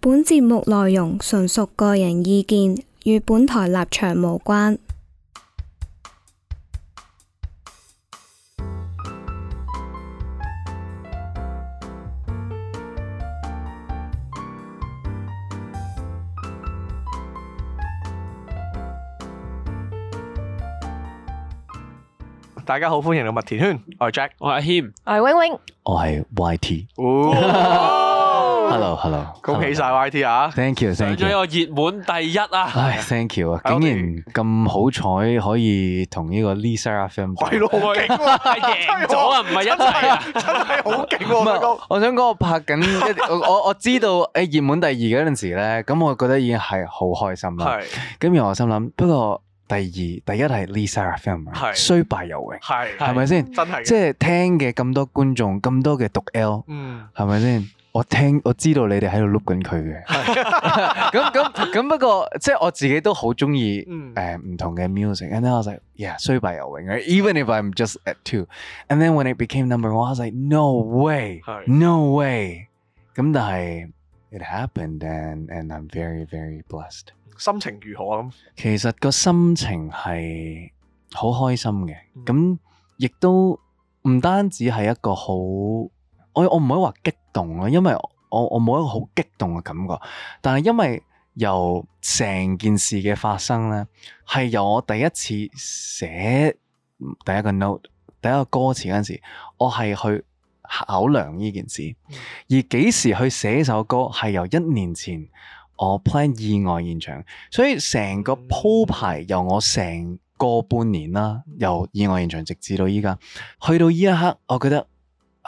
本節目內容純屬個人意見，與本台立場無關。 大家好，歡迎嚟麥田圈，我係 Jack， 我係阿謙， 我係 Wing Wing， 我係 YT。Hello， 恭喜晒 YT 啊 ！Thank you， 上咗一個熱門第一啊！ 唉 ，Thank you 啊！竟然咁好彩可以同呢個 Lee Seraphim 係咯，好勁喎， 贏咗啊，唔係一齊啊， 真係好勁喎！ 唔係，我想講我拍緊我知道熱門第二嗰陣時咧，咁我覺得已經係好開心啦。係，咁然後我心諗，不過第一係 Lee Seraphim， 雖敗猶榮，係咪先？真係，即係聽嘅咁多觀眾，咁多嘅讀 L， 係咪先？我知道你哋喺度碌緊佢嘅，咁不過即係我自己都好中意唔同嘅 music，and then I was like yeah 雖敗猶榮 ，even if I'm just at 2，and then when it became number 1，I was like no way，no way， 咁但係 it happened and I'm very very blessed。 心情如何咁？ 其實個心情係好開心嘅，咁亦都唔單止係一個好。我唔可以話激動咯，因為我冇一個好激動嘅感覺。但係因為由成件事嘅發生咧，係由我第一次寫第一個 note、第一個歌詞嗰陣時，我係去考量呢件事。而幾時去寫首歌，係由1年前我 plan 意外現場，所以成個鋪排由我成個半年啦，由意外現場直至到依家，去到呢一刻，我覺得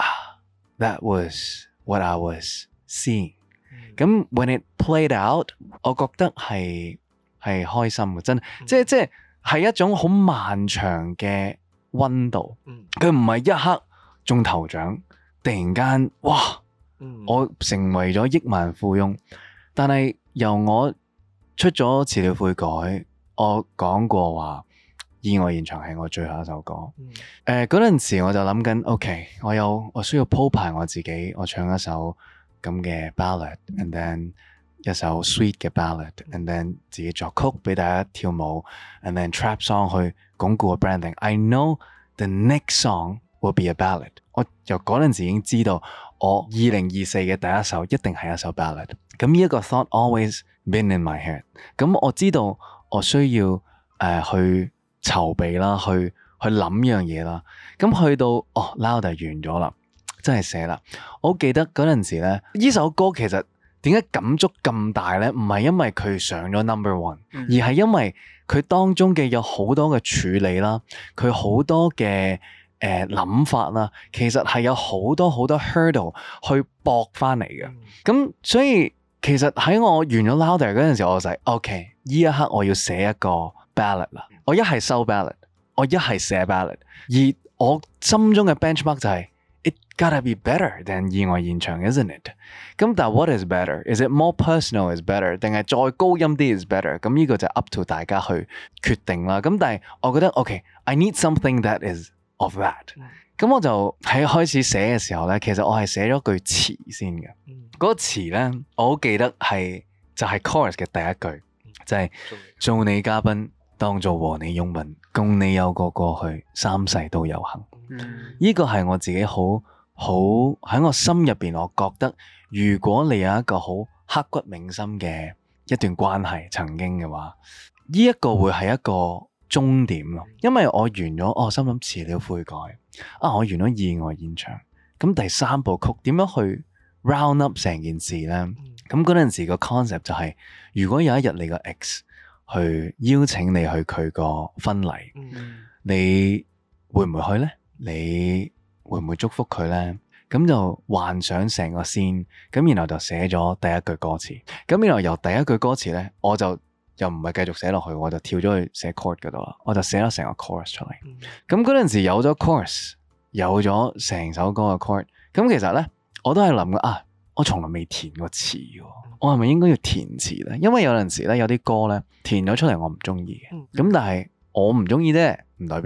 That was what I was seeing。咁 when it played out， 我覺得係開心嘅，真即係一種好漫長嘅溫度。佢唔係一刻中頭獎，突然間哇，我成為咗億萬富翁。但係由我出咗辭了悔改，我講過話。意外現場係我最後一首歌。嗰陣時我就諗緊 ，OK， 我需要鋪排我自己，我唱一首咁嘅 ballad，and then 一首 sweet 嘅 ballad，and then 自己作曲俾大家跳舞 ，and then trap song 去鞏固個 branding。I know the next song will be a ballad。我由嗰陣時已經知道，我2024嘅第一首一定係一首 ballad。咁呢一個 thought always been in my head。咁我知道我需要去籌備啦，去諗樣嘢啦。咁去到Louder 完咗啦，真係寫啦。我記得嗰陣時咧，呢首歌其實點解感觸咁大咧？唔係因為佢上咗 number 1，而係因為佢當中嘅有好多嘅處理啦，佢好多嘅諗法啦，其實係有好多 hurdle 去駁翻嚟嘅。咁所以其實喺我完咗 Louder 嗰陣時，我就係 OK， 呢一刻我要寫一個ballad 啦，我一係收 ballad， 我一係寫 ballad， 而我心中嘅 benchmark 就係 it gotta be better than 意外現場 ，isn't it？ 咁但係 what is better？Is it more personal is better？ 定係再高音啲 is better？ 咁呢個就 up to 大家去決定啦。咁但係我覺得 OK，I need something that is of that。咁我就喺開始寫嘅時候咧，其實我係寫咗句詞先嘅。嗰個詞咧，我好記得就係 chorus 嘅第一句，就係做你嘉賓。當做和你擁吻，共你有個過去，3世都有幸。呢個係我自己好喺我心入邊，我覺得如果你有一個好刻骨銘心嘅一段關係曾經嘅話，呢一個會係一個終點咯。因為我完咗，我心諗辭了悔改我完咗意外現場，咁第3部曲點樣去 round up 成件事呢？咁嗰陣時個 concept 就係，如果有一日你個 ex去邀請你去佢個婚禮，你會唔會去呢？你會唔會祝福佢呢？咁就幻想成個 scene，咁然後就寫咗第一句歌詞。咁然後由第一句歌詞呢，我就又唔係繼續寫落去，我就跳咗去寫 chord 嗰度啦。我就寫咗成個 chorus 出嚟。咁嗰陣時有咗 chorus，有咗成首歌嘅 chord。咁其實呢，我都係諗嘅我從來未填過詞嘅，我係咪應該要填詞咧？因為有陣時咧，有啲歌咧填咗出嚟我唔中意嘅，咁但係我唔中意啫，唔代表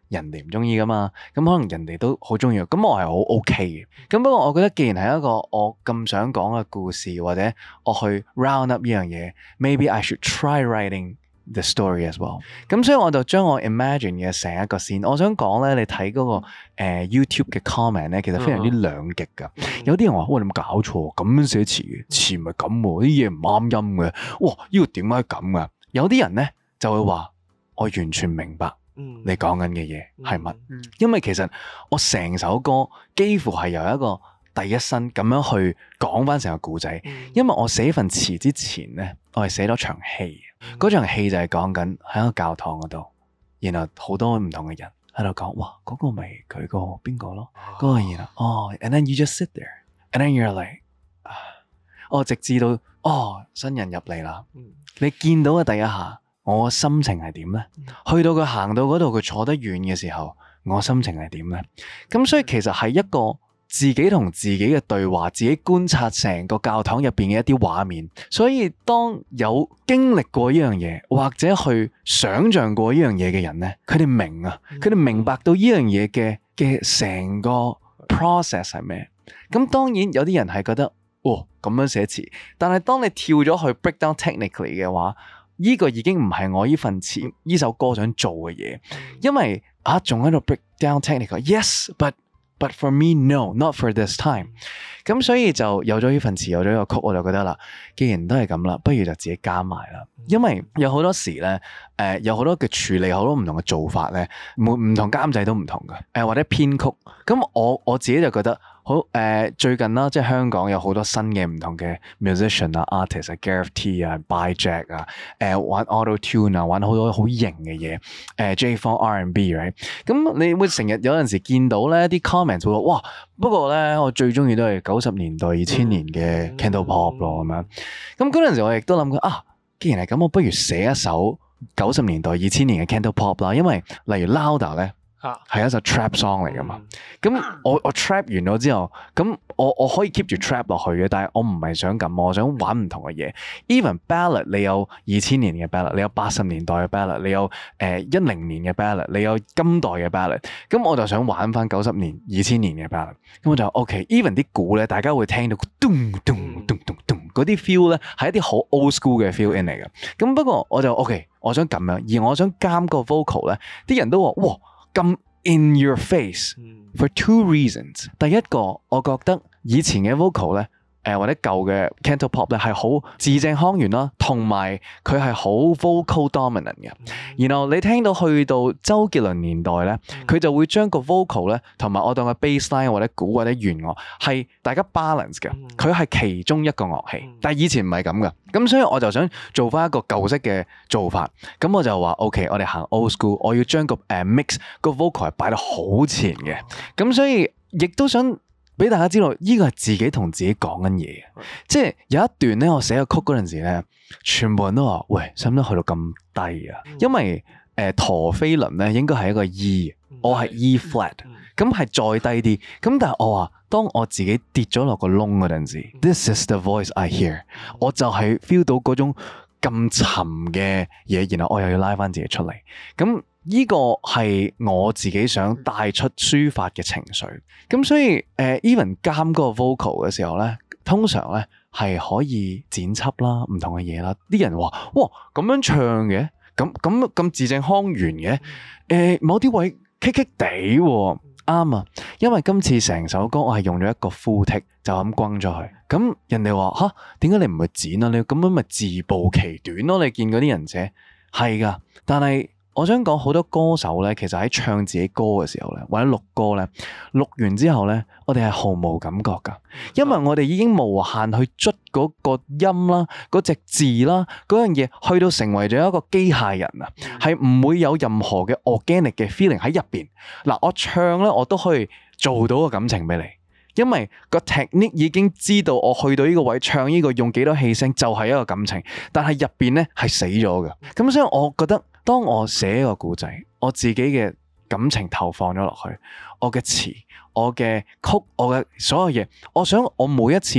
人哋唔中意噶嘛，咁可能人哋都好中意，咁我係好 OK 嘅。咁不過我覺得既然係一個我咁想講嘅故事，或者我去 round up 呢樣嘢，maybe I should try writing the story as well。咁所以我就將我 imagine 嘅成一個線，我想講咧，你睇嗰個YouTube 嘅 comment 咧，其實非常之兩極噶。有啲人話：喂，你有冇搞錯？咁樣寫詞嘅詞唔係咁喎，啲嘢唔啱音嘅。哇，呢個點解咁噶？有啲人咧就會話：我完全明白你講緊嘅嘢係乜，因為其實我成首歌幾乎係由一個第一身咁樣去講翻成個故仔。因為我寫份詞之前咧，我係寫咗場戲，嗰場戲就係講緊喺一個教堂嗰度，然後好多唔同嘅人喺度講：哇，嗰個咪佢個邊個咯？嗰個然後and then you just sit there，and then you're like，直至到新人入嚟啦，你見到嘅第一下，我心情係點呢？去到佢行到嗰度，佢坐得遠嘅時候，我心情係點呢？咁所以其實係一個自己同自己嘅對話，自己觀察成個教堂入邊嘅一啲畫面。所以當有經歷過呢樣嘢，或者去想象過呢樣嘢嘅人呢，佢哋明啊，佢哋明白到呢樣嘢嘅成個 process 係咩？咁當然有啲人係覺得咁樣寫詞，但係當你跳咗去 break down technically 嘅話，呢個已經唔係我呢份詞呢首歌想做嘅嘢，因為仲喺度 break down technical，yes，but for me no，not for this time。咁所以就有咗呢份詞，有咗呢個曲，我就覺得啦，既然都係咁啦，不如就自己加埋啦。因為有好多時咧，有好多嘅處理，好多唔同嘅做法咧，唔同監製都唔同嘅，或者編曲。咁我自己就覺得。好最近啦，即係香港有好多新嘅唔同嘅 musician 啊、artist 啊、Gareth T 啊、By Jack 啊，玩 auto tune 啊，玩好多好型嘅嘢，J-Funk R&B，right？ 咁你會成日有陣時見到咧啲 comments 會話：哇！不過咧，我最中意都係90年代、2000年嘅 Cantopop 咯咁樣。咁嗰陣時我亦都諗過既然係咁，我不如寫一首90年代、2000年嘅 Cantopop 啦，因為例如 Louder 咧。係一首 trap song 嚟噶嘛？咁我 trap 完咗之後，咁我可以 keep 住 trap 落去嘅，但係我唔係想咁，我想玩唔同嘅嘢。Even ballad， 你有2000年嘅 ballad， 你有80年代嘅 ballad， 你有10年嘅 ballad， 你有今代嘅 ballad。咁我就想玩翻90年、2000年嘅 ballad。咁我就 OK。Even 啲鼓咧，大家會聽到咚咚咚咚咚嗰啲 feel 咧，係一啲好 old school 嘅 feel in 嚟嘅。咁不過我就 OK， 我想咁樣，而我想監個 vocal 咧，啲人都話哇。咁 in your face for two reasons。第一個，我覺得以前嘅 vocal 咧，或者舊嘅 Cantopop 咧係好字正腔圓啦，同埋佢係好 vocal dominant 嘅。然後你聽到去到周杰倫年代咧，佢就會將個 vocal 咧同埋我當嘅 bassline 或者鼓或者弦樂係大家 balance 嘅，佢係其中一個樂器。但係以前唔係咁嘅，咁所以我就想做翻一個舊式嘅做法。咁我就話 OK， 我哋行 old school， 我要將個mix 個 vocal 係擺得好前嘅。咁所以亦都想俾大家知道，呢個係自己同自己講緊嘢，即係有一段咧，我寫個曲嗰陣時咧，全部人都話：喂，使唔使去到咁低啊？因為陀飛輪咧應該係一個 E， 我係 E flat， 咁係再低啲。咁但係我話，當我自己跌咗落個窿嗰陣時，This is the voice I hear， 我就係 feel 到嗰種咁沉嘅嘢，然後我又要拉翻自己出嚟。咁呢個係我自己想帶出抒發嘅情緒，咁所以even 監嗰個 vocal 嘅時候咧，通常咧係可以剪輯啦，唔同嘅嘢啦。啲人話：哇，咁樣唱嘅，咁字正腔圓嘅，某啲位棘棘地喎，啱啊。因為今次成首歌我係用咗一個 full take 就咁轟咗去，咁人哋話：吓，點解你唔去剪啊？你咁樣咪自暴其短咯？你見嗰啲人寫係噶，但係。我想講好多歌手咧，其實喺唱自己歌嘅時候咧，或者錄歌咧，錄完之後咧，我哋係毫無感覺噶，因為我哋已經無限去捽嗰個音啦、嗰隻字啦、嗰樣嘢，去到成為咗一個機械人啊，係唔會有任何嘅 organic 嘅 feeling 喺入邊。嗱，我唱咧，我都可以做到個感情俾你。因為個 technique 已經知道我去到呢個位唱呢個用幾多氣聲就係一個感情，但係入邊咧係死咗嘅。咁所以我覺得當我寫一個故仔，我自己嘅感情投放咗落去，我嘅詞、我嘅曲、我嘅所有嘢，我想我每一次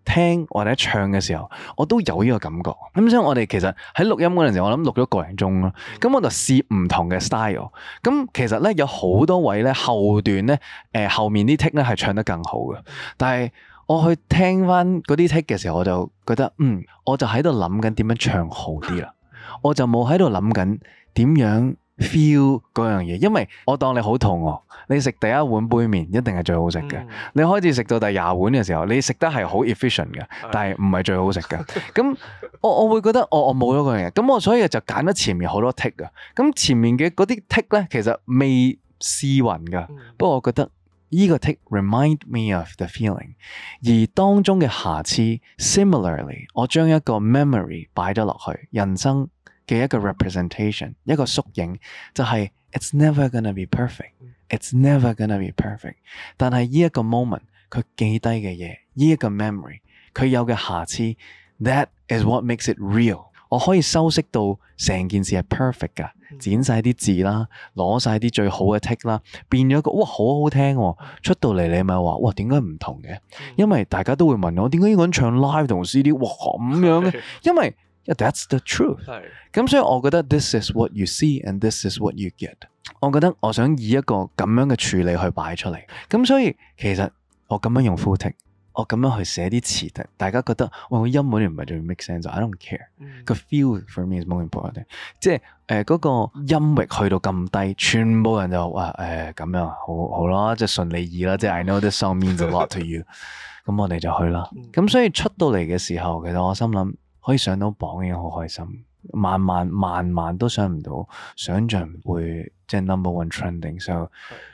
聽或者唱嘅時候，我都有呢個感覺。咁所以我哋其實喺錄音嗰陣時，我諗錄咗個零鐘咯。咁我就試唔同嘅 style。咁其實咧有好多位咧後段咧，後面啲 take 咧係唱得更好嘅。但係我去聽翻嗰啲 take 嘅時候，我就覺得我就喺度諗緊點樣唱好啲啦。我就冇喺度諗緊點樣 feel 嗰樣嘢，因為我當你好肚餓，你食第一碗杯麵一定係最好食嘅。你開始食到第20碗嘅時候，你食得係好 efficient 嘅，但係唔係最好食嘅。咁我會覺得我冇咗嗰樣嘢，咁我所以就揀咗前面好多 take 啊。咁前面嘅嗰啲 take 咧，其實未試勻噶，不過我覺得呢個 take remind me of the feeling， 而當中嘅瑕疵 similarly， 我將一個 memory 擺咗落去，人生嘅一個 representation， 一個縮影，就係 it's never gonna be perfect，it's never gonna be perfect。但係呢一個 moment， 佢記低嘅嘢，呢一個 memory， 佢有嘅瑕疵 ，that is what makes it real。我可以修飾到成件事係 perfect 噶，剪晒啲字啦，攞晒啲最好嘅 take 啦，變咗個哇好好聽喎，出到嚟你咪話哇點解唔同嘅？因為大家都會問我點解呢個人唱 live 同 CD 哇咁樣嘅？因為That's the truth。咁所以我覺得 this is what you see and this is what you get。我覺得我想以一個咁樣嘅處理去擺出嚟。咁所以其實我咁樣用 full take， 我咁樣去寫啲詞，大家覺得哇個音嗰啲唔係最 make sense，I don't care。個 feel for me is more important。即係嗰個音域去到咁低，全部人就話咁樣好啦，即係順你意啦。即係 I know this song means a lot to you。咁我哋就去啦。咁所以出到嚟嘅時候，其實我心諗，可以上到榜已經好開心，萬萬都想唔到，想像會即係 number one trending，so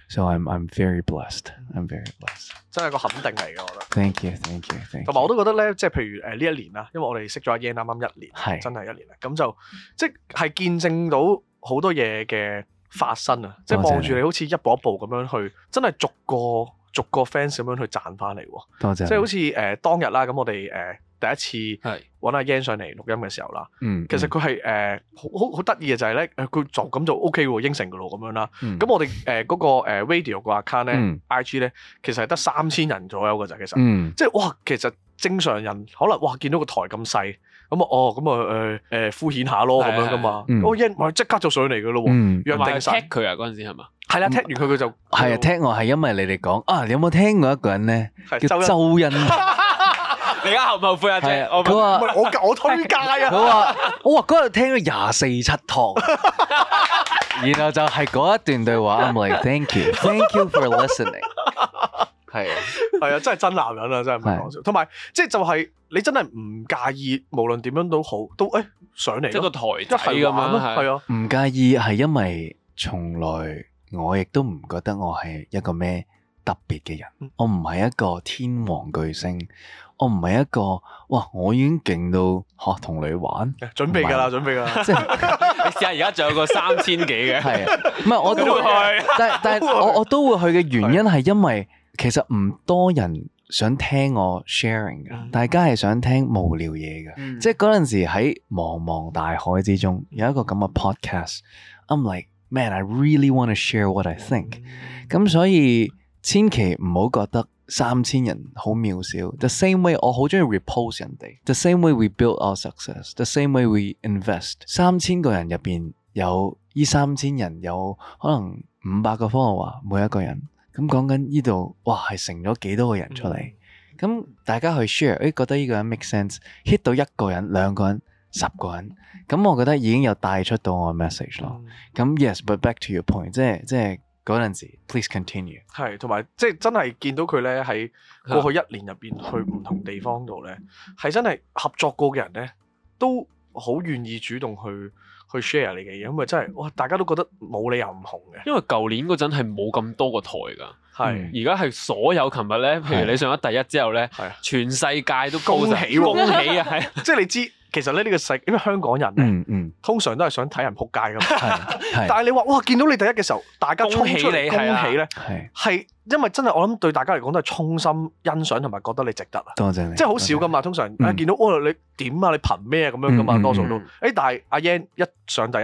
I'm very blessed，I'm very blessed， 真係個肯定嚟嘅，我覺得。 Thank you。 同埋我都覺得咧，即係譬如呢一年啦，因為我哋識咗阿 Yan 啱啱1年， 係真係1年啦，咁就即係見證到好多嘢嘅發生啊！即係望住你好似一步一步咁樣去，真係逐個 fans 咁樣去賺翻嚟喎。 多謝。 即係好似當日啦，咁我哋第一次揾阿 Yan 上嚟錄音嘅時候啦，其實佢係好得意嘅就係咧，佢就咁就 OK 喎，應承噶咯咁樣啦。咁我哋嗰個radio 個 account 咧，IG 咧，其實係得3000人左右嘅咋，其實，即係哇，其實正常人可能哇見到個台咁細，咁敷衍下咯咁樣噶嘛。Yan 咪即刻就上嚟噶咯喎，約定晒。 踢佢啊嗰陣時係嘛？ 係啦，踢完佢就係啊，踢我係因為你哋講你有冇聽過一個人咧叫周欣？ 你而家後唔後悔啊？ 係佢話我推介啊！ 我話嗰日聽咗24、7堂，然後就係嗰一段對話。I'm like thank you for listening。係啊，真係真男人啊，真係唔係講笑。同埋即係就係你真係唔介意，無論點樣都好，都上嚟。 即係個台仔咁樣， 係啊， 唔介意係因為從來我亦都唔覺得我係一個咩特別嘅人，我唔係一個天王巨星。我唔係一個哇！我已經勁到學同你玩， 準備㗎啦，準備㗎啦。 即係你試下而家仲有個3000幾嘅， 係啊，唔係我都會去，但係我都會去嘅原因係因為其實唔多人想聽我 sharing 嘅，大家係想聽無聊嘢嘅。即係嗰陣時喺茫茫大海之中有一個咁嘅 podcast，I'm like man I really want to share what I think。咁所以千祈唔好覺得3000人好渺小。The same way 我好中意 repost 人哋。The same way we build our success。The same way we invest。3000個人入邊有呢3000人有可能500個 follower 每一個人。咁講緊呢度哇係成咗幾多個人出嚟？咁大家去 share，覺得呢個人 make sense，hit 到1個人、2個人、10個人，咁我覺得已經有帶出到我嘅 message 咯。咁 yes，but back to your point， 即係嗰陣時 ，please continue。係，同埋即係真係見到佢咧喺過去1年入邊去唔同地方度咧，係真係合作過嘅人咧，都好願意主動去 share 你嘅嘢，因為真係哇，大家都覺得冇理由唔紅嘅。因為舊年嗰陣係冇咁多個台㗎，係而家係所有琴日咧，譬如你上咗第一之後咧，全世界都恭喜恭喜啊！係，即係你知。其實咧呢個世，因為香港人咧，通常都係想睇人仆街噶嘛。但係你話哇，見到你第一嘅時候，大家衝出嚟恭喜咧，係因為真係我諗對大家嚟講都係衷心欣賞同埋覺得你值得啊。多謝你，即係好少噶嘛。通常見到你點啊，你憑咩咁樣噶嘛？多數都但係阿 Yan 一上第一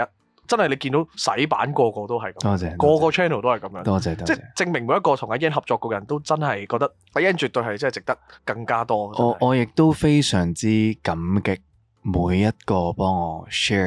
真係你見到洗版個個都係咁， 多謝個個 channel 都係咁樣， 多謝， 即係證明每一個同阿 Yan 合作嘅人都真係覺得阿 Yan 絕對係真係值得更加多。 我亦都非常之感激每一個幫我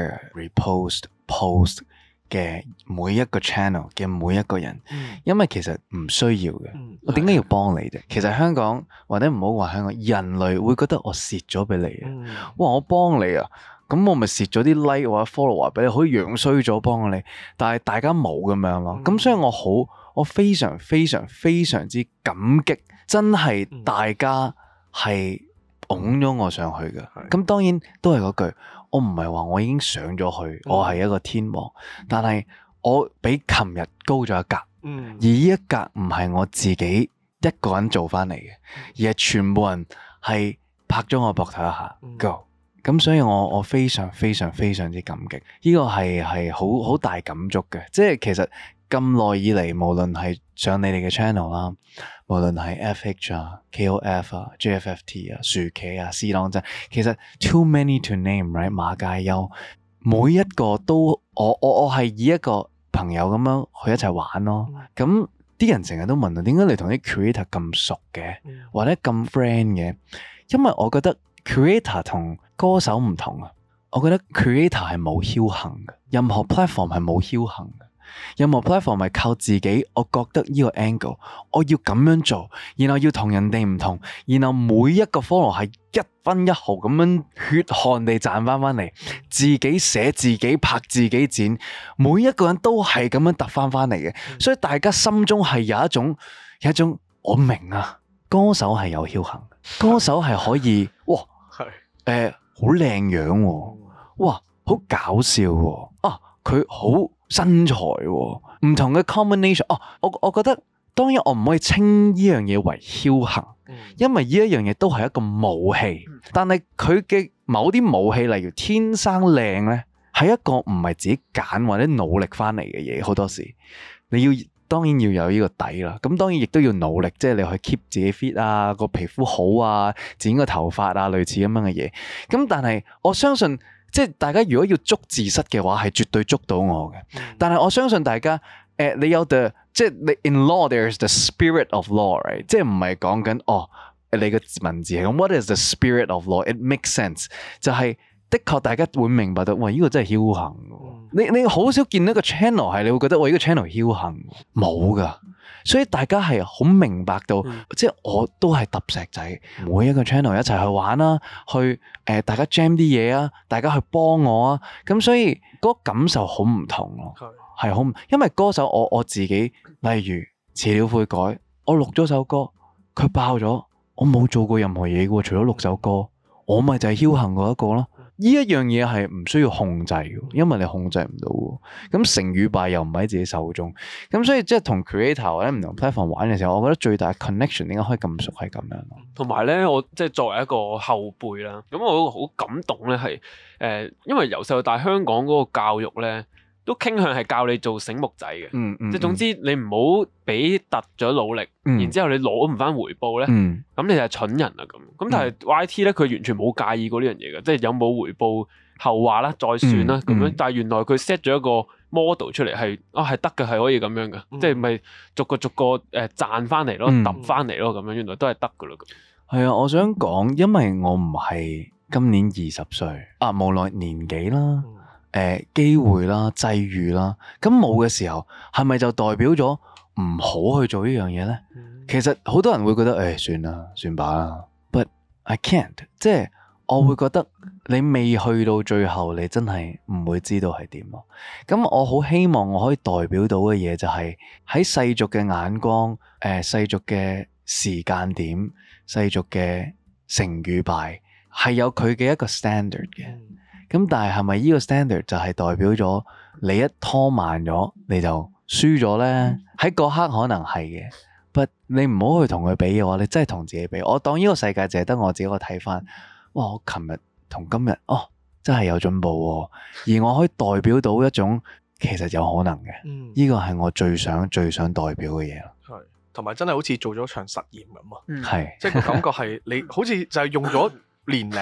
share、repost、post 嘅每一個 channel 嘅每一個人，因為其實唔需要嘅。我點解要幫你啫？其實香港或者唔好話香港，人類會覺得我蝕咗俾你啊！哇，我幫你啊，咁我咪蝕咗啲 like 或者 follower 俾你，可以樣衰咗幫你，但係大家冇咁樣咯。咁所以我非常非常非常之感激，真係大家係拱咗我上去嘅。咁當然都係嗰句。我唔係話我已經上咗去，我係一個天王，但係我比琴日高咗一格，而呢一格唔係我自己一個人做翻嚟嘅，而係全部人係拍咗我膊頭一下，Go！咁所以我非常非常非常之感激，呢個係好大感觸嘅，即係其實咁耐以嚟，無論係上你哋嘅 channel 啦，無論係 FH 啊、KOF 啊、JFFT 啊、薯茄啊、試當真，其實 too many to name，right？ 馬介休，每一個都我係以一個朋友咁樣去一齊玩咯。咁啲人成日都問啊，點解你同啲 creator 咁熟嘅，或者咁 friend 嘅？因為我覺得 creator 同歌手唔同啊。我覺得 creator 係冇僥倖嘅，任何 platform 係冇僥倖嘅。任何 platform 係靠自己，我覺得呢個 angle 我要咁樣做，然後要同人哋唔同，然後每一個 follow 係一分一毫咁樣血汗地賺翻嚟，自己寫自己拍自己剪，每一個人都係咁樣揼翻嚟嘅，所以大家心中係有一種我明啊，歌手係有僥倖，歌手係可以哇好靚樣，哇好搞笑喎，啊佢好身材喎，唔同嘅 combination。我覺得當然我唔可以稱呢樣嘢為僥倖，因為呢一樣嘢都係一個武器。但係佢嘅某啲武器，例如天生靚呢，係一個唔係自己揀或者努力翻嚟嘅嘢。好多時你要當然要有呢個底啦。咁當然亦都要努力，即係你去 keep 自己 fit 啊，個皮膚好啊，剪個頭髮啊，類似咁樣嘅嘢。咁但係我相信。即係大家如果要捉字蝨嘅話，係絕對捉到我嘅。但係我相信大家，你有即係你 in law there's the spirit of law，right？ 即係唔係講緊你個文字係咁。What is the spirit of law？ It makes sense。就係的確大家會明白到，哇！呢個真係僥倖嘅。你好少見到一個 channel 係你會覺得，哇！呢個 channel 僥倖，冇㗎。所以大家係好明白到，即係我都係揼石仔，每一個 channel 一齊去玩啦，去大家 jam 啲嘢啊，大家去幫我啊，咁所以嗰個感受好唔同咯，係好，因為歌手我自己，例如遲了悔改，我錄咗首歌，佢爆咗，我冇做過任何嘢嘅，除咗錄首歌，我咪就係僥倖嗰一個咯。呢一樣嘢係唔需要控制嘅，因為你控制唔到嘅。咁成與敗又唔喺自己手中，咁所以即係同 creator 或者唔同 platform 玩嘅時候，我覺得最大嘅 connection 點解可以咁熟係咁樣咯。 同埋咧，我即係作為一個後輩啦，咁我好感動咧，係因為由細到大香港嗰個教育咧，都傾向係教你做醒目仔嘅，即係總之你唔好俾突咗努力，然之後你攞唔翻回報咧，咁你就係蠢人啦咁。咁但係 YT 咧，佢完全冇介意過呢樣嘢嘅，即係有冇回報後話啦，再算啦咁樣。但係原來佢 set 咗一個 model 出嚟係得嘅，係可以咁樣嘅，即係咪逐個賺翻嚟咯，揼翻嚟咯咁樣，原來都係得噶啦。 係啊，我想講，因為我唔係今年20歲啊，無論年紀啦。機會啦、際遇啦，咁冇嘅時候，係咪就代表咗唔好去做呢樣嘢呢？其實好多人會覺得，算啦，算吧啦。But I can't，即係我會覺得你未去到最後，你真係唔會知道係點咯。咁我好希望我可以代表到嘅嘢就係喺世俗嘅眼光、世俗嘅時間點、世俗嘅成與敗，係有佢嘅一個 standard 嘅。咁但係咪呢個 standard 就係代表咗你一拖慢咗你就輸咗呢？喺嗰刻可能係嘅，but 你唔好去同佢比嘅話，你真係同自己比。我當呢個世界淨係得我自己個睇翻，哇！我琴日同今日真係有進步喎，而我可以代表到一種其實有可能嘅，呢個係我最想代表嘅嘢咯。 係，同埋真係好似做咗場實驗咁啊！ 係， 即係個感覺係你好似就係用咗年齡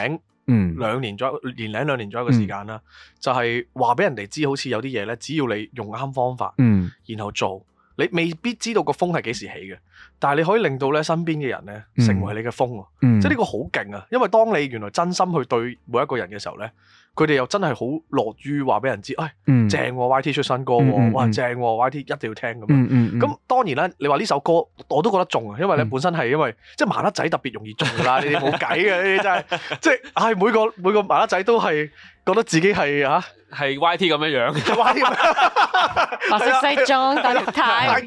2年左右，年零2年左右嘅時間啦，就係話俾人哋知，好似有啲嘢咧，只要你用啱方法，然後做。你未必知道個風係幾時起嘅，但係你可以令到咧身邊嘅人咧成為你嘅風喎，即係呢個好勁啊！因為當你原來真心去對每一個人嘅時候咧，佢哋又真係好樂於話俾人知，正喎 YT 出新歌喎，哇正喎 YT 一定要聽咁樣。咁當然啦，你話呢首歌我都覺得中啊，因為咧本身係因為即係麻甩仔特別容易中㗎啦，呢啲冇計嘅，呢啲真係即係每個麻甩仔都係覺得自己係係 YT 咁樣樣 ，YT 咁樣， 白色西裝戴綠呔，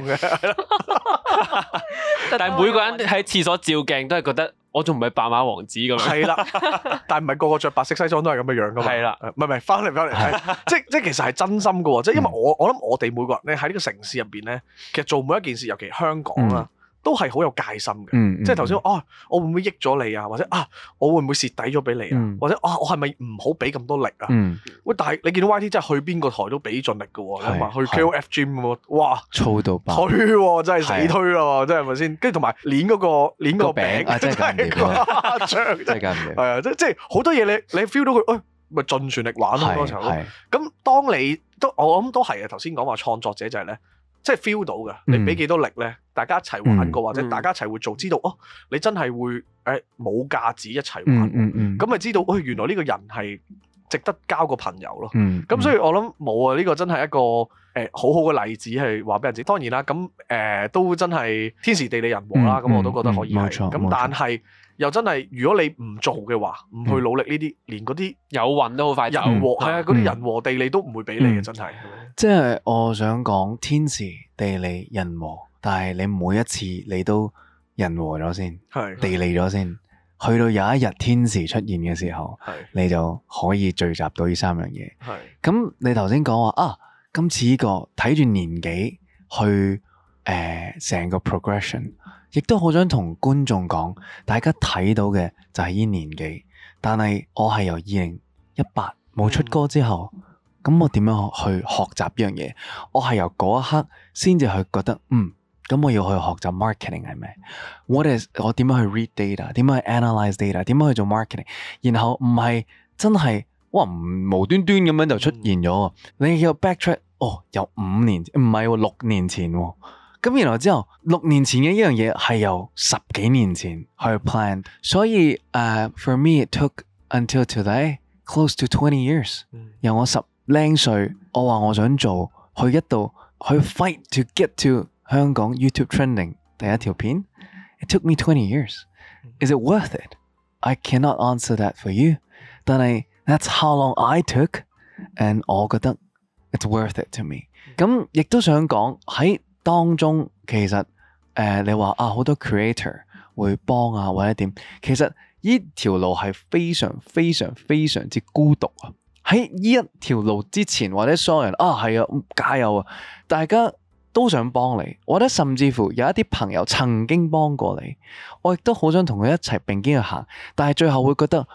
但係每個人喺廁所照鏡都係覺得我仲唔係白馬王子咁樣。係啦，但係唔係個個着白色西裝都係咁嘅樣噶嘛。係啦，唔係翻嚟，即係其實係真心噶喎。即係因為我諗我哋每個人咧喺呢個城市入邊咧，其實做每一件事，尤其香港啦。都係好有戒心嘅，即係頭先我會唔會益咗你啊？或者我會唔會蝕底咗俾你啊？或者我係咪唔好俾咁多力啊？喂，但係你見到 YT 真係去邊個台都俾盡力嘅喎，你話去 KOF Gym 喎，哇， 操到爆， 推喎，真係死推咯，真係咪先？跟住同埋攣嗰個餅， 真係誇張， 真係緊嘅， 係啊，即係好多嘢你 feel 到佢，咪盡全力玩好多時候咯。咁當你我諗都係啊，頭先講話創作者就係咧。即係 feel 到嘅，你俾幾多力咧？大家一齊玩過，或者大家一齊會做，知道你真係會冇架子一齊玩，咁咪知道原來呢個人係值得交個朋友咯。咁所以我諗冇啊，呢個真係一個好好嘅例子係話俾人知。當然啦，咁都真係天時地利人和啦。咁我都覺得可以係。咁但係又真係，如果你唔做嘅話，唔去努力呢啲，連嗰啲有運都好快。人和係啊，嗰啲人和地利都唔會俾你嘅，真係。 即係我想講天時地利人和，但係你每一次你都人和咗先，地利咗先，去到有一日天時出現嘅時候，你就可以聚集到呢3樣嘢。咁你頭先講話今次呢個睇住年紀去成個 progression， 亦都好想同觀眾講，大家睇到嘅就係呢年紀，但係我係由2018冇出歌之後。咁我點樣去學習呢樣嘢？我係由嗰一刻先至去覺得，咁我要去學習 marketing 係咩？我點樣去 read data？ 點樣去 analyze data？ 點樣去做 marketing？ 然後唔係真係無端端咁樣就出現咗。你要 backtrack，由5年唔係6年前。咁然後之後6年前嘅呢樣嘢係由10幾年前去 plan。所以for me it took until today close to 20 years。由我10零歲，我話我想做，去一度去 fight to get to 香港 YouTube trending 第一條片。It took me 20 years. Is it worth it? I cannot answer that for you. 但係 that's how long I took, and 我覺得 it's worth it to me. 咁亦都想講喺當中，其實你話好多 creator 會幫或者點，其實呢條路係非常非常非常之孤獨啊！喺呢一條路之前，或者所有人係啊，加油啊！大家都想幫你，或者甚至乎有一啲朋友曾經幫過你，我亦都好想同佢一齊並肩去行，但係最後會覺得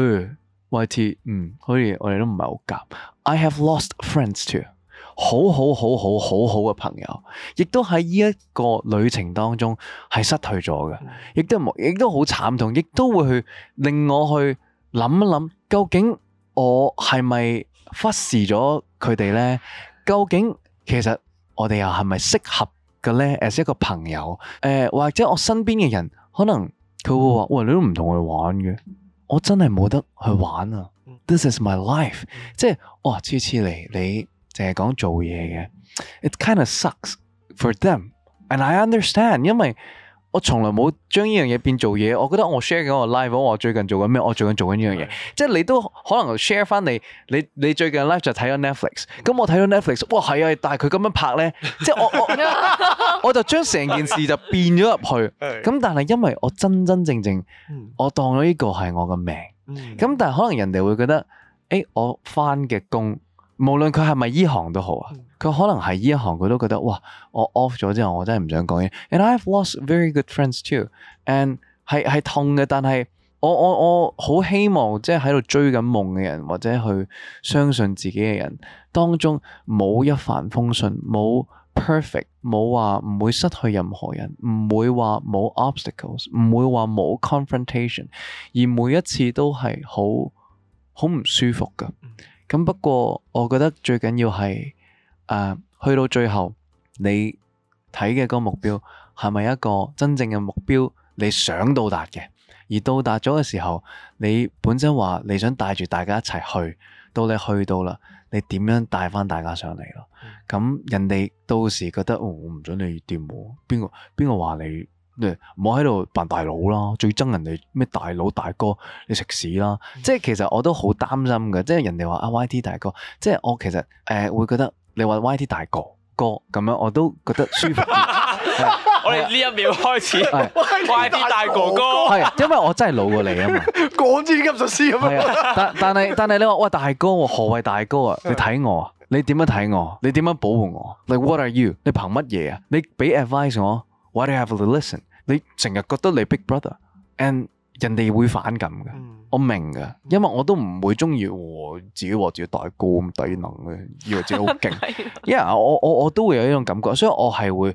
YT 好似我哋都唔係好夾。I have lost friends too， 好嘅朋友，亦都喺呢一個旅程當中係失去咗嘅，亦都好慘痛，亦都會去令我去諗一諗，究竟我係咪忽視咗佢哋呢？究竟其實我哋又係咪適合嘅呢？ as 一個朋友，或者我身邊嘅人，可能佢會話：喂，你都唔同佢玩嘅，我真係冇得去玩啊！This is my life，即係次次嚟你淨係講做嘢嘅，it kind of sucks for them，and I understand， 因為我從來冇將呢樣嘢變做嘢，我覺得我 share 緊我 live， 我最近做緊咩？我最近做緊呢樣嘢，即係你都可能 share 翻你最近 live 就睇咗 Netflix， 咁我睇咗 Netflix， 哇係啊，但係佢咁樣拍咧，即係我就將成件事就變咗入去，咁但係因為我真正我當咗呢個係我嘅命，咁但係可能人哋會覺得，我翻嘅工，無論佢係咪依行都好啊。佢可能係呢一行，佢都覺得哇，我 off 咗之後，我真係唔想講嘢。And I've lost very good friends too，and 係痛嘅，但係我好希望即係喺度追緊夢嘅人，或者去相信自己嘅人當中，冇一帆風順，冇 perfect， 冇話唔會失去任何人，唔會話冇 obstacles， 唔會話冇 confrontation， 而每一次都係好唔舒服㗎。咁不過我覺得最緊要係去到最後你睇嘅嗰個目標係咪一個真正嘅目標，你想到達嘅，而到達咗嘅時候，你本身話你想帶住大家一齊去，到你去到啦，你點樣帶翻大家上嚟咯？咁人哋到時覺得我唔准你掂喎，邊個話你唔好喺度扮大佬啦，最憎人哋咩大佬大哥，你食屎啦！即係其實我都好擔心嘅，即係人哋話YT 大哥，即係我其實會覺得你話 YT 大哥咁樣，我都覺得舒服啲。 我哋呢一秒開始，YT 大哥哥， 係因為我真係老過你啊嘛， 講支級術師咁樣。 但係你話喂大哥，何謂大哥啊？你睇我啊？你點樣睇我？你點樣保護我 ？Like what are you？你憑乜嘢啊？你俾 advice 我 ，Why do you have to listen？ 你成日覺得你 big brother，and 人哋會反感嘅，我明嘅，因為我都唔會中意自己話自己大哥咁低能嘅，以為自己好勁。因為我都會有呢種感覺，所以我係會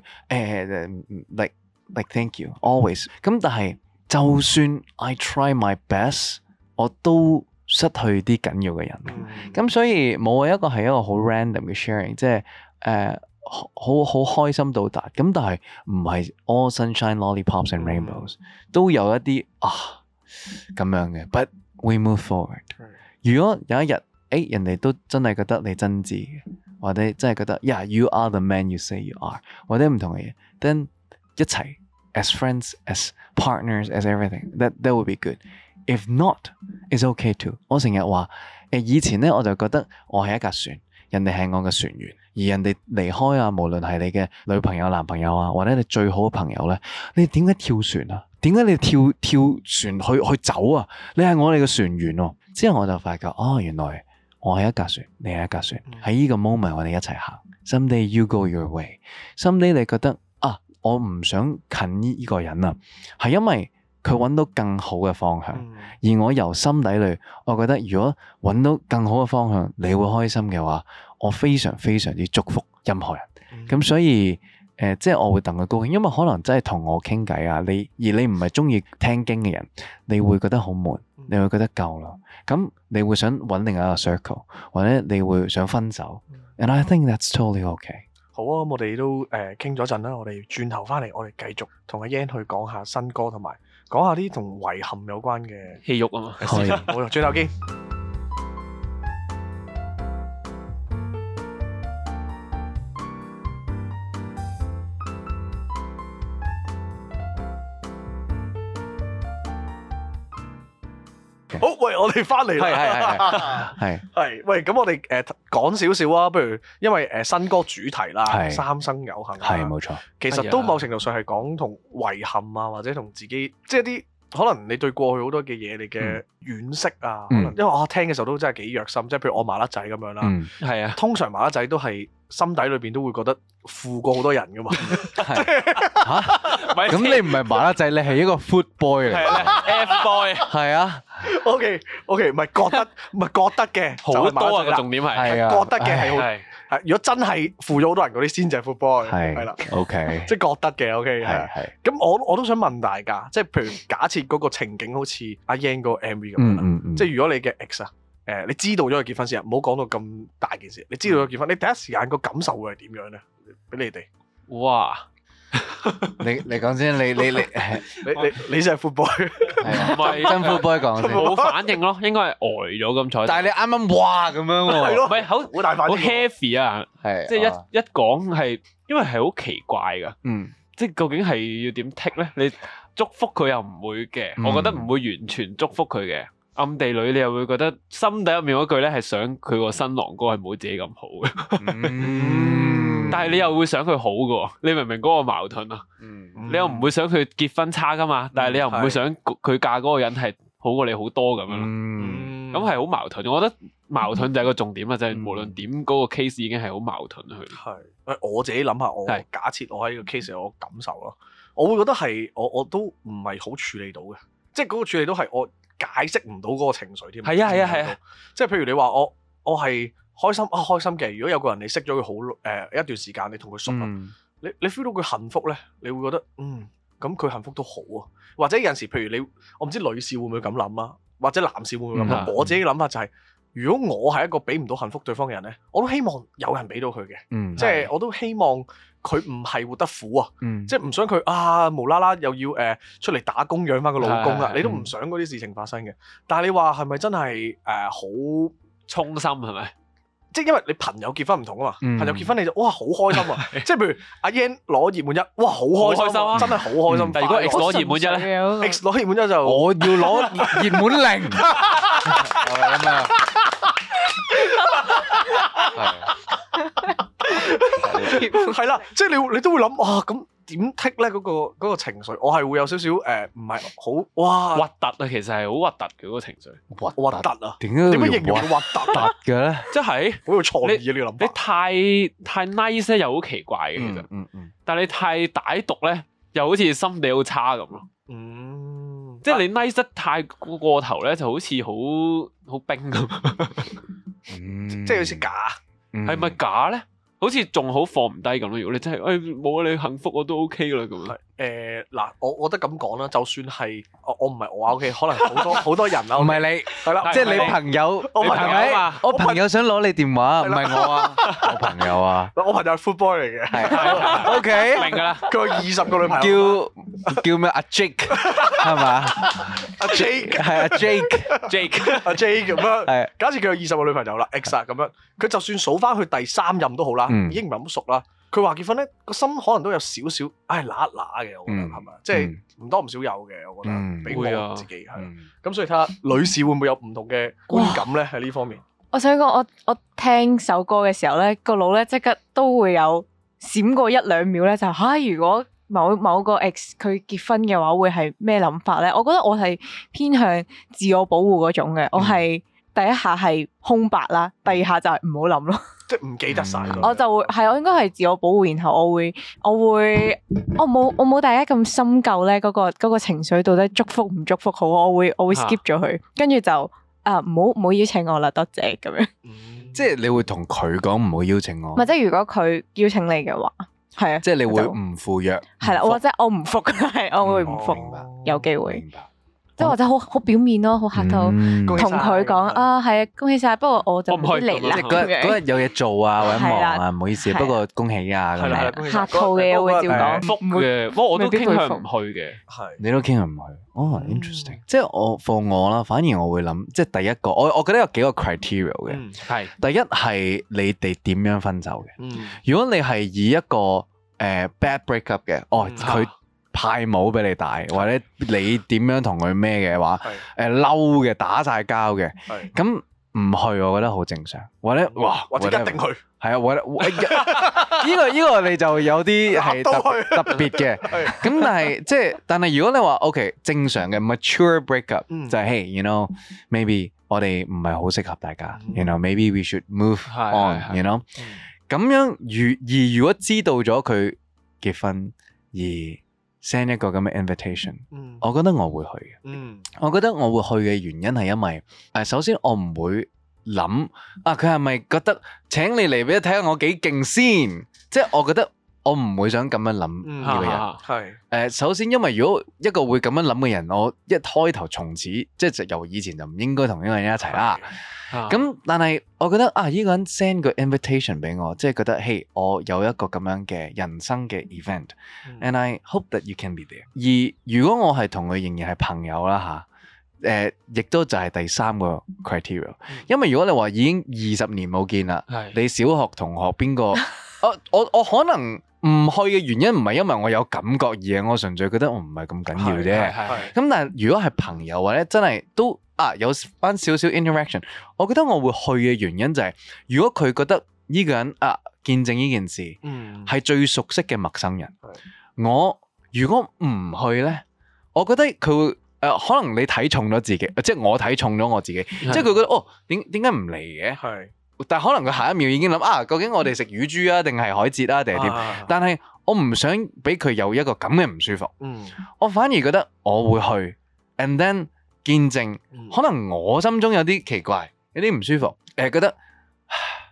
like thank you always。咁但係就算 I try my best， 我都失去啲緊要嘅人。咁所以冇一個係一個好 random 嘅 sharing， 即係好開心到達。咁但係唔係 all sunshine lollipops and rainbows， 都有一啲咁樣嘅。But we move forward。如果有一日人哋都真係覺得你真摯嘅，或者真係覺得 Yeah you are the man you say you are， 或者唔同嘅嘢，then 一齊 as friends as partners as everything that would be good。If not it's okay too。 我成日話以前咧我就覺得我係一架船，人哋係我嘅船員，而人哋離開啊，無論係你嘅女朋友、男朋友啊，或者你最好嘅朋友咧，你點解跳船啊？點解你跳船去走啊？你係我哋嘅船員喎。之後我就發覺原來我係一架船，你係一架船，喺呢個 moment 我哋一齊行。Someday you go your way。Someday 你覺得我唔想近呢個人啊，係因為佢揾到更好嘅方向，而我由心底裏，我覺得如果揾到更好嘅方向，你會開心嘅話，我非常非常之祝福任何人。咁所以即係我會戥佢高興，因為可能真係同我傾偈啊，而你唔係中意聽經嘅人，你會覺得好悶，你會覺得夠啦，咁你會想揾另一個 circle， 或者你會想分手。And I think that's totally okay。 好啊，我哋都傾咗陣啦，我哋轉頭翻嚟，我哋繼續同阿 Yan 去講下新歌，同埋講下啲同遺憾有關嘅戲肉啊嘛。 好，轉頭見。好，喂，我哋翻嚟啦，係，喂，咁我哋講少少啊，不如因為新歌主題啦，三生有幸， 係冇錯， 其實都某程度上係講同遺憾啊，或者同自己，即係啲可能你對過去好多嘅嘢，你嘅惋惜啊，可能因為我聽嘅時候都真係幾虐心，即係譬如我麻甩仔咁樣啦， 係啊， 通常麻甩仔都係心底裏邊都會覺得負過好多人噶嘛， 咁你唔係麻甩仔，你係一個 foot boy 嚟 ，F boy， 係啊 ，OK，唔係覺得嘅， 好多啊個重點係覺得嘅係。係，如果真係負咗好多人嗰啲先至係 foot boy， 係啦 ，OK， 即係覺得嘅 ，OK， 係。咁我都想問大家，即係譬如假設嗰個情景好似阿 Yan 嗰個 MV 咁樣啦，即係如果你嘅 ex 啊，你知道咗佢結婚先，唔好講到咁大件事，你知道咗結婚，你第一時間個感受會係點樣咧？俾你哋， 哇！ 你講先， 你先係 foot boy， 唔係真 foot boy 講先， 冇反應咯，應該係呆咗咁彩。 但係你啱啱哇咁樣喎， 係咯， 唔係好大反應，好 heavy 啊，即係一講係，因為係好奇怪噶，即係究竟係要點剔咧？你祝福佢又唔會嘅，我覺得唔會完全祝福佢嘅，暗地裏你又會覺得心底入面嗰句咧係想佢個新郎哥係冇自己咁好嘅。但係你又會想佢好嘅，你明唔明嗰個矛盾啊？你又唔會想佢結婚差噶嘛？但係你又唔會想佢嫁嗰個人係好過你好多咁樣咯。咁係好矛盾。我覺得矛盾就係個重點啦，就係無論點嗰個 case 已經係好矛盾去。係， 我自己諗下，我假設我喺呢個 case 有個感受咯，我會覺得係我都唔係好處理到嘅，即係嗰個處理到係我解釋唔到嗰個情緒添。係啊，即係譬如你話我係開心啊，開心嘅。如果有個人你識咗佢好一段時間，你同佢熟啦，你 feel 到佢幸福咧，你會覺得咁佢幸福都好啊。或者有陣時，譬如我唔知女士會唔會咁諗啊，或者男士會唔會咁諗？我自己嘅諗法就係，如果我係一個俾唔到幸福對方嘅人咧，我都希望有人俾到佢嘅，即係我都希望佢唔係活得苦啊，即係唔想佢無啦啦又要出嚟打工養翻個老公啊，你都唔想嗰啲事情發生嘅。但係你話係咪真係好衷心係咪？ 即係因為你朋友結婚唔同啊嘛，朋友結婚你就哇好開心啊！即係譬如阿 Yan 攞熱門一，哇好開心啊，真係好開心。 但如果 X 攞熱門一咧 ，X 攞熱門一就我要攞熱門零，係咁啊！ 係啦，即係你都會諗哇咁。點剔咧嗰個情緒，我係會有少少唔係好哇核突啊！其實係好核突嘅嗰個情緒， 核突啊！ 點樣形容核突嘅咧？ 即係好有創意啊！呢個諗法你太 nice 咧，又好奇怪嘅其實，但係你太歹毒咧，又好似心地好差咁咯。即係你 nice 得太過頭咧，就好似好冰咁。 即係好似假， 係咪假咧？好似仲好放唔低咁咯，如果你真係冇啊，你幸福我都 OK 啦咁。 嗱，我覺得咁講啦，就算係我唔係我 OK，可能好多人啦， 唔係你係啦， 即係你朋友， 我朋友嘛， 我朋友想攞你電話，唔係我啊，我朋友啊， 我朋友係 football 嚟嘅， 係 OK， 明㗎啦， 佢有20個女朋友， 叫咩阿 Jake 係嘛？ 阿 Jake 係阿 Jake 咁樣，係假設佢有20個女朋友啦 ，X 咁樣，佢就算數翻去第3任都好啦，已經唔係咁熟啦。佢話結婚咧，個心可能都有少少，揦一揦嘅，我覺得係咪？即係唔多唔少有嘅，我覺得俾我自己係。咁所以睇下女士會唔會有唔同嘅觀感咧？喺呢方面， 我想講，我聽首歌嘅時候咧，個腦咧即刻都會有閃過1-2秒咧，就如果某個 ex 佢結婚嘅話，會係咩諗法咧？我覺得我係偏向自我保護嗰種嘅，我係第一下係空白啦，第二下就係唔好諗咯。 即係唔記得晒， 我就會我應該係自我保護，然後我冇大家咁深究咧，嗰個情緒到底祝福唔祝福好，我會 skip 咗佢，跟住就唔好邀請我啦，多謝咁樣。 即係你會同佢講唔好邀請我， 或者如果佢邀請你嘅話，係啊， 即係你會唔赴約， 係啦，或者我唔復，係我會唔復，有機會。即係或者好表面咯，好客套，同佢講係啊，恭喜晒。不過我就唔可以嚟啦。 嗰日有嘢做啊，或者忙啊，唔好意思。不過恭喜啊，咁樣客套嘅我會照講。 復嘅，不過我都傾向唔去嘅。 係你都傾向唔去。哦，interesting。即係我啦，反而我會諗，即係第一個，我覺得有幾個 criteria 嘅。係第一係你哋點樣分手嘅。如果你係以一個bad breakup 嘅，佢派帽俾你戴，或者你點樣同佢咩嘅話，嬲嘅打晒交嘅，咁唔去我覺得好正常，或者一定去， 係啊，或者呢個你就有啲係特別嘅，咁但係如果你話 OK 正常嘅 mature breakup 就係 hey you know maybe 我哋唔係好適合大家，you know maybe we should move on you know 咁樣如果知道咗佢結婚而send 一個咁嘅 invitation，我覺得我會去嘅。我覺得我會去嘅原因係因為首先我唔會諗佢係咪覺得請你嚟俾佢睇下我幾勁先，即係我覺得我唔會想咁樣諗呢個人。係首先因為如果一個會咁樣諗嘅人，我一開頭從此即係由以前就唔應該同呢個人一齊啦。咁但係我覺得呢個人 send 個 invitation 俾我，即係覺得嘿，我有一個咁樣嘅人生嘅 event，and I hope that you can be there。而如果我係同佢仍然係朋友啦亦都就係第3個 criteria。因為如果你話已經20年冇見啦，你小學同學邊個？我可能唔去嘅原因唔係因為我有感覺，而係我純粹覺得我唔係咁緊要啫。咁但係如果係朋友或者真係都有翻少少 interaction， 我覺得我會去嘅原因就係如果佢覺得呢個人見證呢件事係最熟悉嘅陌生人，我如果唔去咧，我覺得佢會可能你睇重咗自己，即係我睇重咗我自己，即係佢覺得點解唔嚟嘅？係，但係可能佢下一秒已經諗究竟我哋食乳豬啊，定係海蜇啊，定係點？但係我唔想俾佢有一個咁嘅唔舒服。我反而覺得我會去 ，and then 見證，可能我心中有啲奇怪，有啲唔舒服，覺得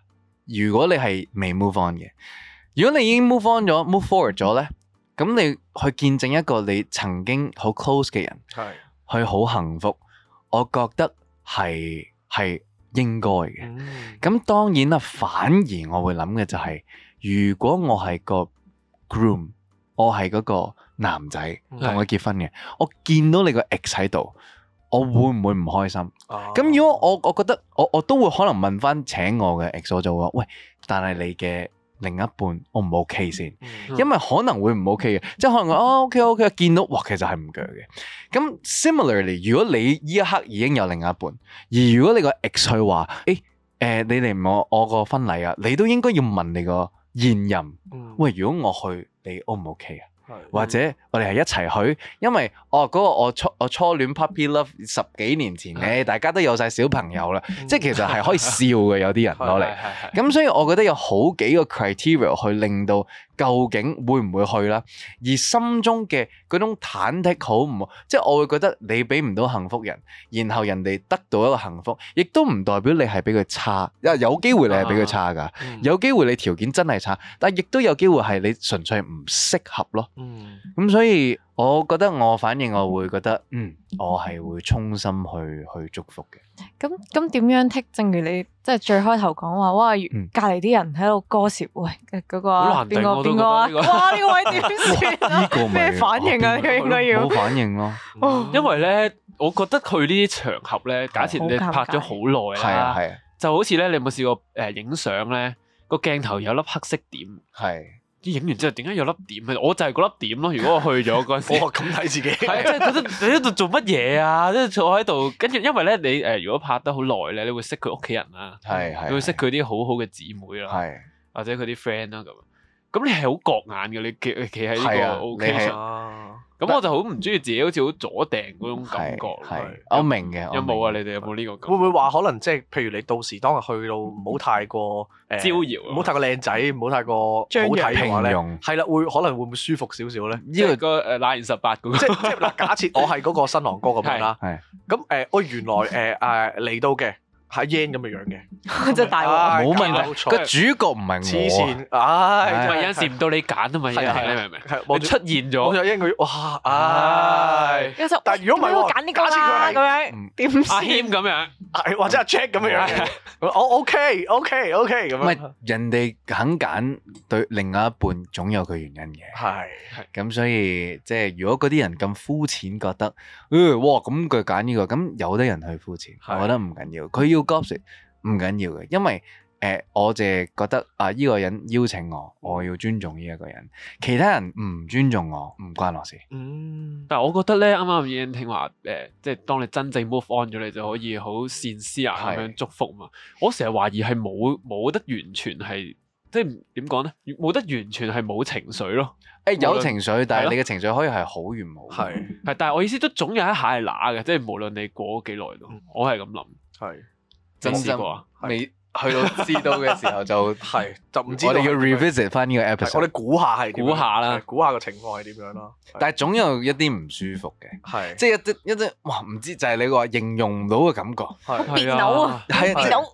如果你係未 move on 嘅，如果你已經 move on 咗 move forward 咗咧，咁你去見證一個你曾經好 close 嘅人，佢好幸福，我覺得係應該嘅。咁當然啦，反而我會諗嘅就係，如果我係個 groom， 我係嗰個男仔同佢結婚嘅，我見到你個 ex 喺度，我會唔會唔開心？咁如果我覺得我都會可能問翻請我嘅 ex， 我就會話喂，但係你嘅另一半 O 唔 OK 先？因為可能會唔 OK 嘅，即係可能OK， 見到哇，其實係唔鋸嘅。咁 similarly， 如果你呢一刻已經有另一半，而如果你個 ex 去話你嚟我個婚禮啊，你都應該要問你個現任，喂，如果我去，你 O 唔 OK 啊？或者我哋係一齊去，因為嗰個我初戀 puppy love 10幾年前咧，大家都有晒小朋友啦，即係其實係可以笑嘅，有啲人攞嚟。咁所以我覺得有好幾個 criteria 去令到究竟會唔會去啦，而心中嘅嗰種忐忑好唔好，即係我會覺得你俾唔到幸福人，然後人哋得到一個幸福，亦都唔代表你係比佢差，有機會你係比佢差㗎，有機會你條件真係差，但係亦都有機會係你純粹唔適合咯。咁所以我覺得我反應我會覺得我係會衷心去祝福嘅。 咁點樣剔？正如你即係最開頭講話，哇！隔離啲人喺度歌舌，喂嗰個邊個啊？哇！呢個位點算啊？咩反應啊？應該要冇反應咯。 因為咧，我覺得去呢啲場合咧，假設你拍咗好耐啦，係啊，就好似咧，你有冇試過影相咧？個鏡頭有粒黑色點，係。啲影完之後點解有粒點？我就係嗰粒點咯。如果我去咗嗰陣時，我咁睇自己，係即係覺得你喺度做乜嘢啊？即係坐喺度，跟住因為咧你如果拍得好耐咧，你會識佢屋企人啦，你會識佢啲好好嘅姊妹啦，或者佢啲 friend 啦咁。咁你係好覺眼嘅，你企喺呢個 occasion。咁我就好唔中意自己好似好阻掟嗰種感覺。 我明嘅。 有冇啊？你哋有冇呢個感覺？ 會唔會話可能即係譬如你到時當日去到唔好太過招搖， 唔好太過靚仔，唔好太過好睇嘅話咧，係啦，可能會唔會舒服少少咧？ 呢個乃然18嗰個， 即係嗱，假設我係嗰個新郎哥咁樣啦，咁我原來嚟到嘅。係 Yan 咁嘅樣嘅， 真係大鑊，冇問題。個主角唔係我， 黐線，唉， 咪有陣時唔到你揀啊嘛，你明唔明？係出現咗， 我就 Yan 佢，哇，唉！但係如果唔係我揀呢個啦，咁樣點？ 阿謙咁樣， 或者阿 Jack 咁嘅樣，我 OK 咁樣。 唔係人哋肯揀對另外一半，總有佢原因嘅。 係咁，所以即係如果嗰啲人咁膚淺，覺得，哇，咁佢揀呢個，咁有得人去膚淺，我覺得唔緊要，佢要。gossip 唔緊要嘅，因為我淨係覺得呢個人邀請我要尊重呢一個人，其他人唔尊重我唔關我事。 但係我覺得咧，啱啱已經聽話即係當你真正 move on 咗，你就可以好善思啊咁樣祝福嘛。我成日懷疑係冇得完全係即係點講咧？冇得完全係冇情緒咯。 有情緒，但係你嘅情緒可以係好與冇。 係，但係我意思都總有一下係乸嘅，即係無論你過咗幾耐都，我係咁諗。係。 真心未去到知道嘅時候就唔知。我哋要 revisit 翻呢個 episode。 我哋估下係估下啦， 估下個情況係點樣咯。 但係總有一啲唔舒服嘅，即係一啲哇唔知就係你話形容唔到嘅感覺。 別扭啊，別扭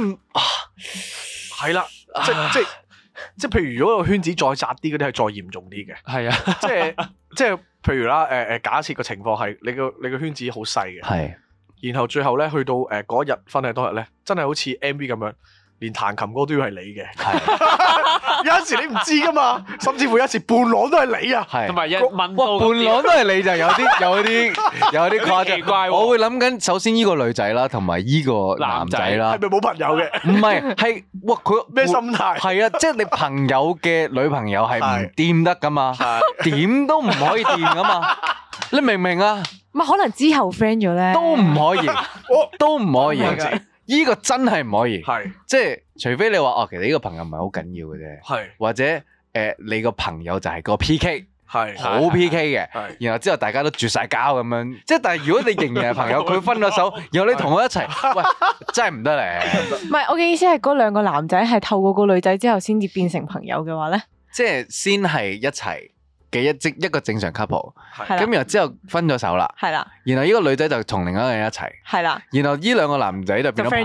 係啦，即係譬如如果個圈子再窄啲嗰啲係再嚴重啲嘅。係啊，即係譬如啦假設個情況係你個圈子好細嘅。然後最後咧，去到嗰日婚禮當日咧，真係好似 MV 咁樣，連彈琴歌都要係你嘅。有陣時你唔知噶嘛，甚至乎有時伴郎都係你啊。 同埋問到伴郎都係你就有啲誇張。奇怪，我會諗緊，首先呢個女仔啦，同埋呢個男仔啦， 係咪冇朋友嘅？ 唔係，係哇佢咩心態？ 係啊，即係你朋友嘅女朋友係唔掂得噶嘛，點都唔可以掂噶嘛。你明唔明啊？ 咪可能之後 friend 咗咧， 都唔可以，都唔可以。呢個真係唔可以，即係除非你話其實呢個朋友唔係好緊要嘅啫，或者你個朋友就係個 PK，好 PK 嘅，然後之後大家都絕晒交咁樣。即係但係如果你仍然係朋友，佢分咗手，然後你同我一齊，喂，真係唔得咧。 唔係，我嘅意思係嗰兩個男仔係透過個女仔之後先至變成朋友嘅話咧， 即係先係一齊嘅一個正常 couple， 咁然後之後分咗手啦，然後呢個女仔就同另一個人一齊，然後呢兩個男仔就變咗 friend 咗啦，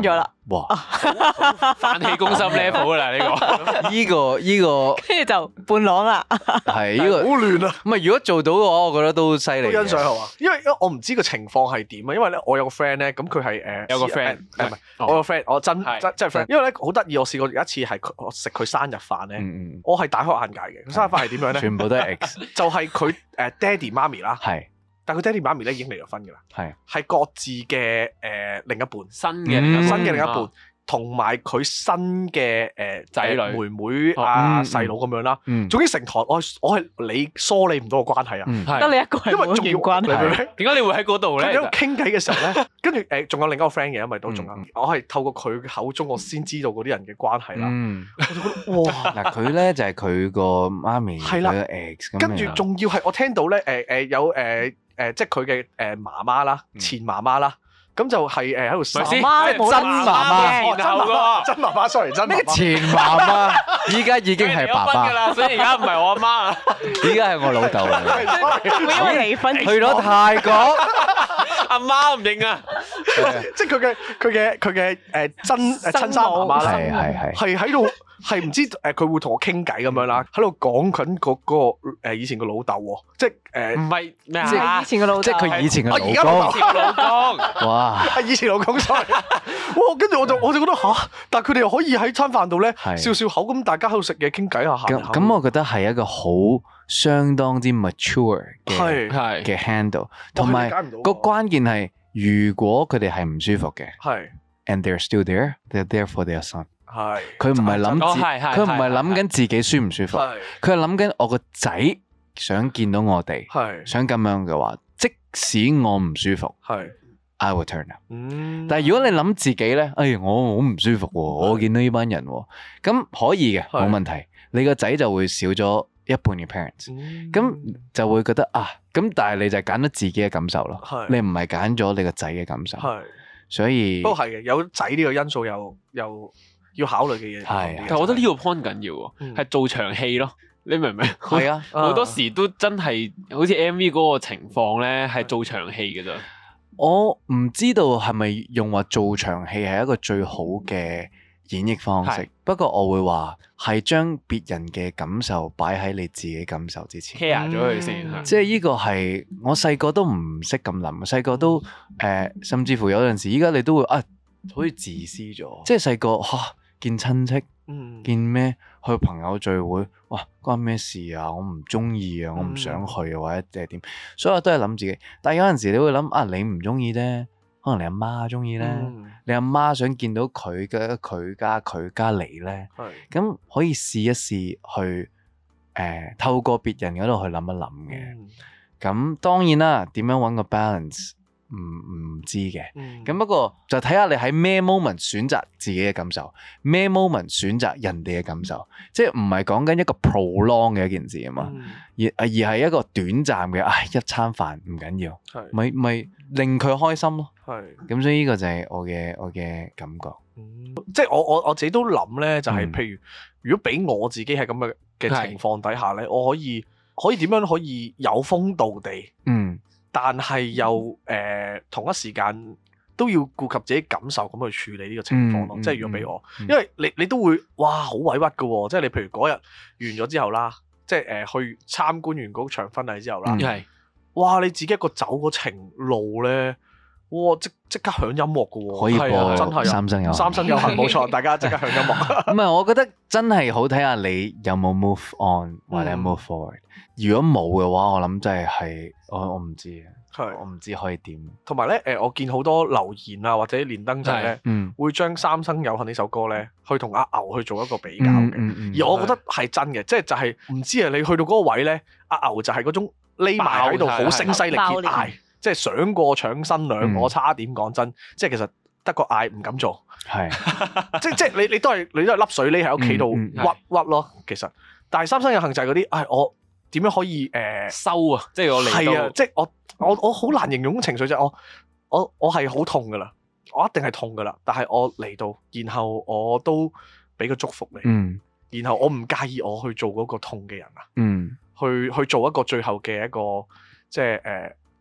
哇！ 飯氣攻心 level 啦呢個， 呢個跟住就伴郎啦。 係呢個好亂啊！ 唔係如果做到嘅話，我覺得都犀利。 欣賞係嘛？因為我唔知個情況係點啊。因為咧，我有個 friend 咧，咁佢係有個 friend 唔係我個 friend，我真係 friend。因為咧好得意，我試過有一次係我食佢生日飯咧，我係大開眼界嘅。佢生日飯係點樣咧？ 全部都係 X， 就係佢爹哋媽咪啦。 係。 但佢爹哋媽咪咧已經離咗婚㗎啦，係各自嘅另一半， 新嘅另一半，同埋佢新嘅仔女、 妹妹啊、細佬咁樣啦。總之成台我係你梳理唔到個關係啊， 得你一個係冇件關係。 點解你會喺嗰度咧？ 喺度傾偈嘅時候咧，跟住仲有另一個 friend 嘅，因為都仲有，我係透過佢口中我先知道嗰啲人嘅關係啦。我就覺得哇！ 嗱佢咧就係佢個媽咪，佢個 ex 咁樣。 跟住仲要係我聽到咧有即係佢嘅媽媽啦，前媽媽啦，咁就係喺度媽媽真媽媽真媽媽 sorry 真媽媽前媽媽，依家已經係爸爸， 所以而家唔係我阿媽啊， 依家係我老豆嚟。 因為離婚去咗泰國， 阿媽唔認啊， 即係佢嘅親生媽媽啦，係喺度。係唔知佢會同我傾偈咁樣啦，喺度講緊嗰個以前個老豆喎，即係唔係咩啊？ 即係以前個老豆， 即係佢以前嘅老公。 以前老公， 哇！ 以前老公 sorry，哇！跟住我就覺得嚇，但係佢哋又可以喺餐飯度咧笑笑口咁，大家喺度食嘢傾偈下。 咁我覺得係一個好相當之 mature 嘅 handle， 同埋個關鍵係，如果佢哋係唔舒服嘅，係 and they're still there，they're there for their son。係，佢唔係諗緊自己舒唔舒服，佢係諗緊我個仔想見到我哋，想咁樣嘅話，即使我唔舒服，I will turn up。但係如果你諗自己咧，哎，我好唔舒服，我見到呢班人，咁可以嘅，冇問題。你個仔就會少咗一半嘅 parents，咁就會覺得啊，咁但係你就揀咗自己嘅感受咯，你唔係揀咗你個仔嘅感受，所以都係嘅，有仔呢個因素又要考慮嘅嘢， 但係我覺得呢個 point 緊要喎，係做場戲咯，你明唔明？ 係啊， 好多時都真係好似 MV 嗰個情況咧，係做場戲嘅咋。 我唔知道係咪用話做場戲係一個最好嘅演繹方式，不過我會話係將別人嘅感受擺喺你自己感受之前 care 咗佢先， 即係呢個係我細個都唔識咁諗，細個都甚至乎有陣時，依家你都會啊，好似自私咗，即係細個嚇。見親戚，見咩去朋友聚會，哇，關咩事啊？我唔中意啊，我唔想去啊，或者即係點？所以我都係諗自己。但係有陣時你會諗啊，你唔中意咧，可能你阿媽中意咧，你阿媽想見到佢家嚟咧，咁可以試一試去透過別人嗰度去諗一諗嘅。咁當然啦，點樣搵個 balance？唔知嘅，咁不過就睇下你喺咩 moment 選擇自己嘅感受，咩 moment 選擇人哋嘅感受，即係唔係講緊一個 prolong 嘅一件事啊嘛，而係一個短暫嘅，一餐飯唔緊要，咪令佢開心咯，咁所以呢個就係我嘅感覺， 即係我自己都諗咧，就係譬如如果俾我自己係咁嘅情況底下咧，我可以點樣可以有風度地，但係又同一時間都要顧及自己感受咁去處理呢個情況咯。即係如果俾我，因為你都會哇好委屈㗎喎。即係你譬如嗰日完咗之後啦，即係去參觀完嗰場婚禮之後啦，哇你自己一個走嗰程路咧，哇即刻響音樂㗎喎， 可以播真係三生有幸冇錯，大家即刻響音樂。 唔係，我覺得真係好睇下你有冇 move on 或者 move forward。如果冇嘅話，我諗真係我唔知啊，我唔知可以點。同埋咧，我見好多留言啊，或者連登仔咧，會將《三生有幸》呢首歌咧，去同阿牛去做一個比較嘅。而我覺得係真嘅，即係就係唔知啊，你去到嗰個位咧，阿牛就係嗰種匿埋喺度好聲嘶力竭嗌，即係想過搶新娘，我差點講真，即係其實得個嗌唔敢做，係即係你都係粒水匿喺屋企度屈咯，其實。但係《三生有幸》就係嗰啲，我點樣可以收啊？即係我嚟到， 係啊！即係我好難形容情緒，就係我係好痛噶啦，我一定係痛噶啦。但係我嚟到，然後我都俾個祝福你，然後我唔介意我去做嗰個痛嘅人啊，去做一個最後嘅一個即係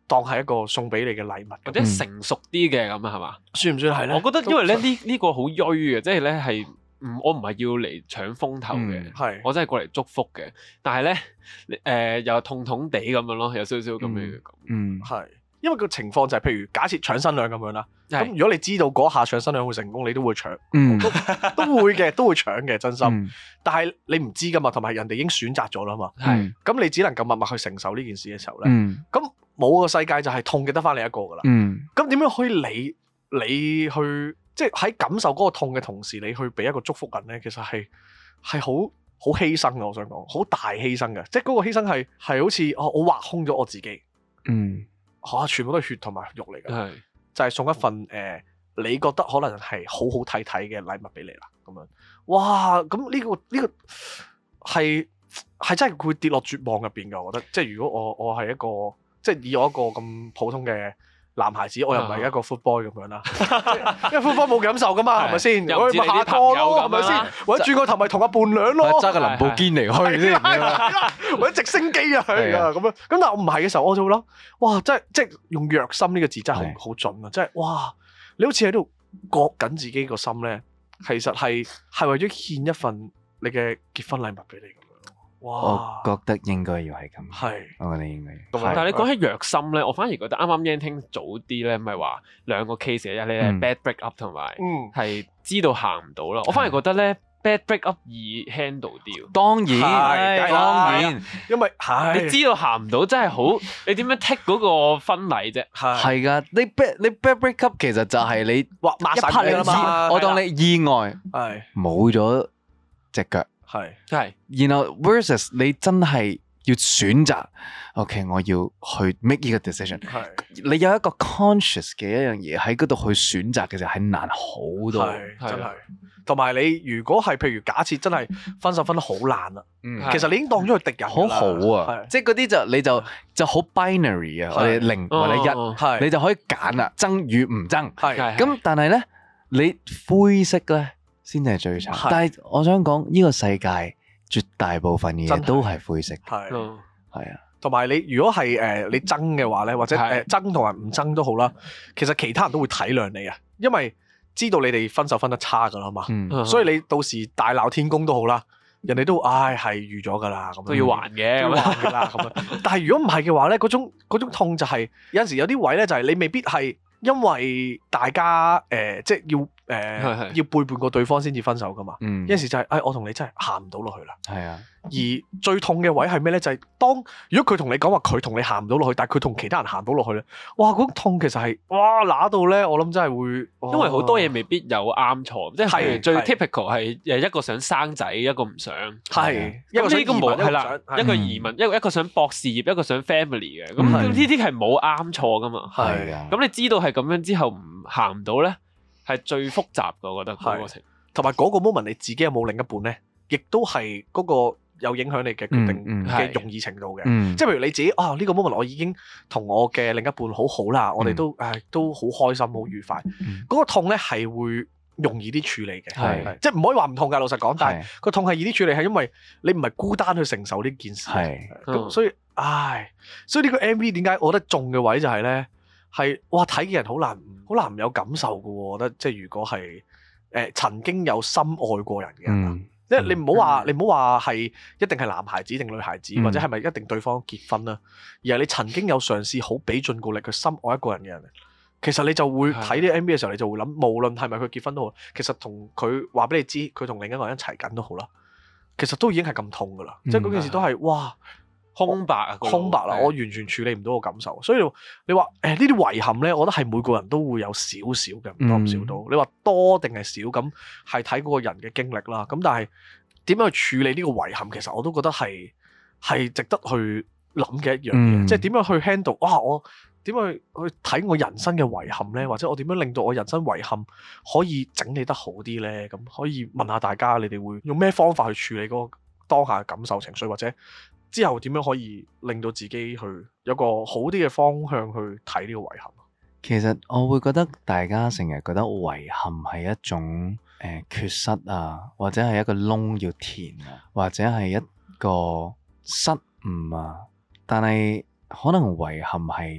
當係一個送俾你嘅禮物， 或者成熟啲嘅咁啊，係嘛？ 算唔算係咧？ 我覺得因為咧呢個好衰嘅，即係咧係我唔係要嚟搶風頭嘅，我真係過嚟祝福嘅。但係咧又痛痛地咁樣咯，有少少咁樣嘅感。 係。因為個情況就係，譬如假設搶新娘咁樣啦，咁如果你知道嗰下搶新娘會成功，你都會搶，都會嘅，都會搶嘅，真心。但係你唔知噶嘛，同埋人哋已經選擇咗啦嘛，咁你只能夠默默去承受呢件事嘅時候咧，咁冇個世界就係痛嘅得翻你一個噶啦。咁點樣可以你去即係喺感受嗰個痛嘅同時，你去俾一個祝福人咧？其實係好犧牲嘅，我想講好大犧牲嘅，即係嗰個犧牲係好似我挖空咗我自己。全部都係血同埋肉嚟嘅，就係送一份你覺得可能係好好睇睇嘅禮物俾你啦，咁樣，哇！咁呢個係真係會跌落絕望入邊㗎，我覺得，即係如果我係一個，即係以我一個咁普通嘅男孩子，我又唔係一個 footboy 咁樣啦，因為 footboy 冇感受噶嘛，係咪先？我咪下個咯，係咪先？或者轉個頭咪同阿伴娘咯， 揸個林寶堅尼去先， 或者直升機啊，係啊咁樣。咁但係我唔係嘅時候，我就會諗，哇！即係用虐心呢個字真係好準啊！即係哇，你好似喺度割緊自己個心咧，其實係為咗獻一份你嘅結婚禮物俾你。 我覺得應該要係咁，我覺得應該。 但係你講起虐心咧，我反而覺得啱啱 Yan 聽早啲咧，咪話兩個 case 嘅，一咧 bad break up 同埋係知道行唔到啦。我反而覺得咧 bad break up 易 handle 啲。當然， 因為你知道行唔到真係好，你點樣 take 嗰個婚禮啫？ 係㗎，你 bad break up 其實就係你一拍你嘛， 我當你意外冇咗隻腳。係，然後 versus 你真係要選擇 ，OK， 我要去 make 呢個 decision。你有一個 conscious 嘅一樣嘢喺嗰度去選擇嘅時候係難好多， 真係。同埋你如果係譬如假設真係分手分得好爛啦，其實你已經當咗佢敵人， 好好啊，即係嗰啲你就好 binary 啊，我哋0或者1，你就可以揀啦，爭與唔爭。咁但係咧，你灰色咧，先係最慘，但係我想講呢個世界絕大部分嘅嘢都係灰色，係啊， 同埋你如果係你爭嘅話咧，或者爭同埋唔爭都好啦，其實其他人都會體諒你啊，因為知道你哋分手分得差噶啦嘛，所以你到時大鬧天宮都好啦，人哋都係預咗噶啦，咁都要還嘅， 都要還噶啦咁樣。但係如果唔係嘅話咧，嗰種痛就係有陣時有啲位咧，就係你未必係因為大家即係要背叛過對方先至分手噶嘛，有陣時就係我同你真係行唔到落去啦。係啊，而最痛嘅位係咩咧？就係如果佢同你講話佢同你行唔到落去，但係佢同其他人行到落去咧，哇！嗰種痛其實係揦到咧，我諗真係會， 因為好多嘢未必有啱錯，即係最 typical 係一個想生仔，一個唔想， 係一個想移民， 係啦，一個移民，一個想博事業，一個想 family 嘅，咁呢啲係冇啱錯噶嘛。係啊，咁你知道係咁樣之後唔行唔到咧？係最複雜嘅，我覺得嗰個情， 同埋嗰個 moment 你自己有冇另一半咧，亦都係嗰個有影響你嘅決定嘅容易程度嘅。即係譬如你自己呢個 moment 我已經同我嘅另一半好好啦，我哋都好開心好愉快。嗰個痛咧係會容易啲處理嘅，即係唔可以話唔痛㗎。老實講，但係個痛係易啲處理，係因為你唔係孤單去承受呢件事。咁所以呢個 MV 點解我覺得中嘅位就係咧？係睇嘅人好難唔有感受㗎喎，我覺得即係如果係曾經有深愛過人嘅人，即係你唔好話係一定係男孩子定女孩子，或者係咪一定對方結婚啦，而係你曾經有嘗試好俾盡告力去深愛一個人嘅人，其實你就會睇呢 MV 嘅時候，你就會諗，無論係咪佢結婚都好，其實同佢話俾你知，佢同另一個人一齊緊都好啦，其實都已經係咁痛㗎啦，即係嗰件事都係空白啊！ 我完全處理唔到個感受，所以你話呢啲遺憾咧，我覺得係每個人都會有少少嘅，唔多唔少都。你話多定係少咁，係睇嗰個人嘅經歷啦。咁但係點樣去處理呢個遺憾，其實我都覺得係值得去諗嘅一樣嘢。即係點樣去 handle？我點樣去睇我人生嘅遺憾咧？或者我點樣令到我人生遺憾可以整理得好啲咧？咁可以問下大家，你哋會用咩方法去處理嗰個當下嘅感受情緒，或者之後點樣可以令到自己去有個好啲嘅方向去睇呢個遺憾？ 其實我會覺得大家成日覺得遺憾係一種缺失啊，或者係一個窿要填啊，或者係一個失誤啊。但係可能遺憾係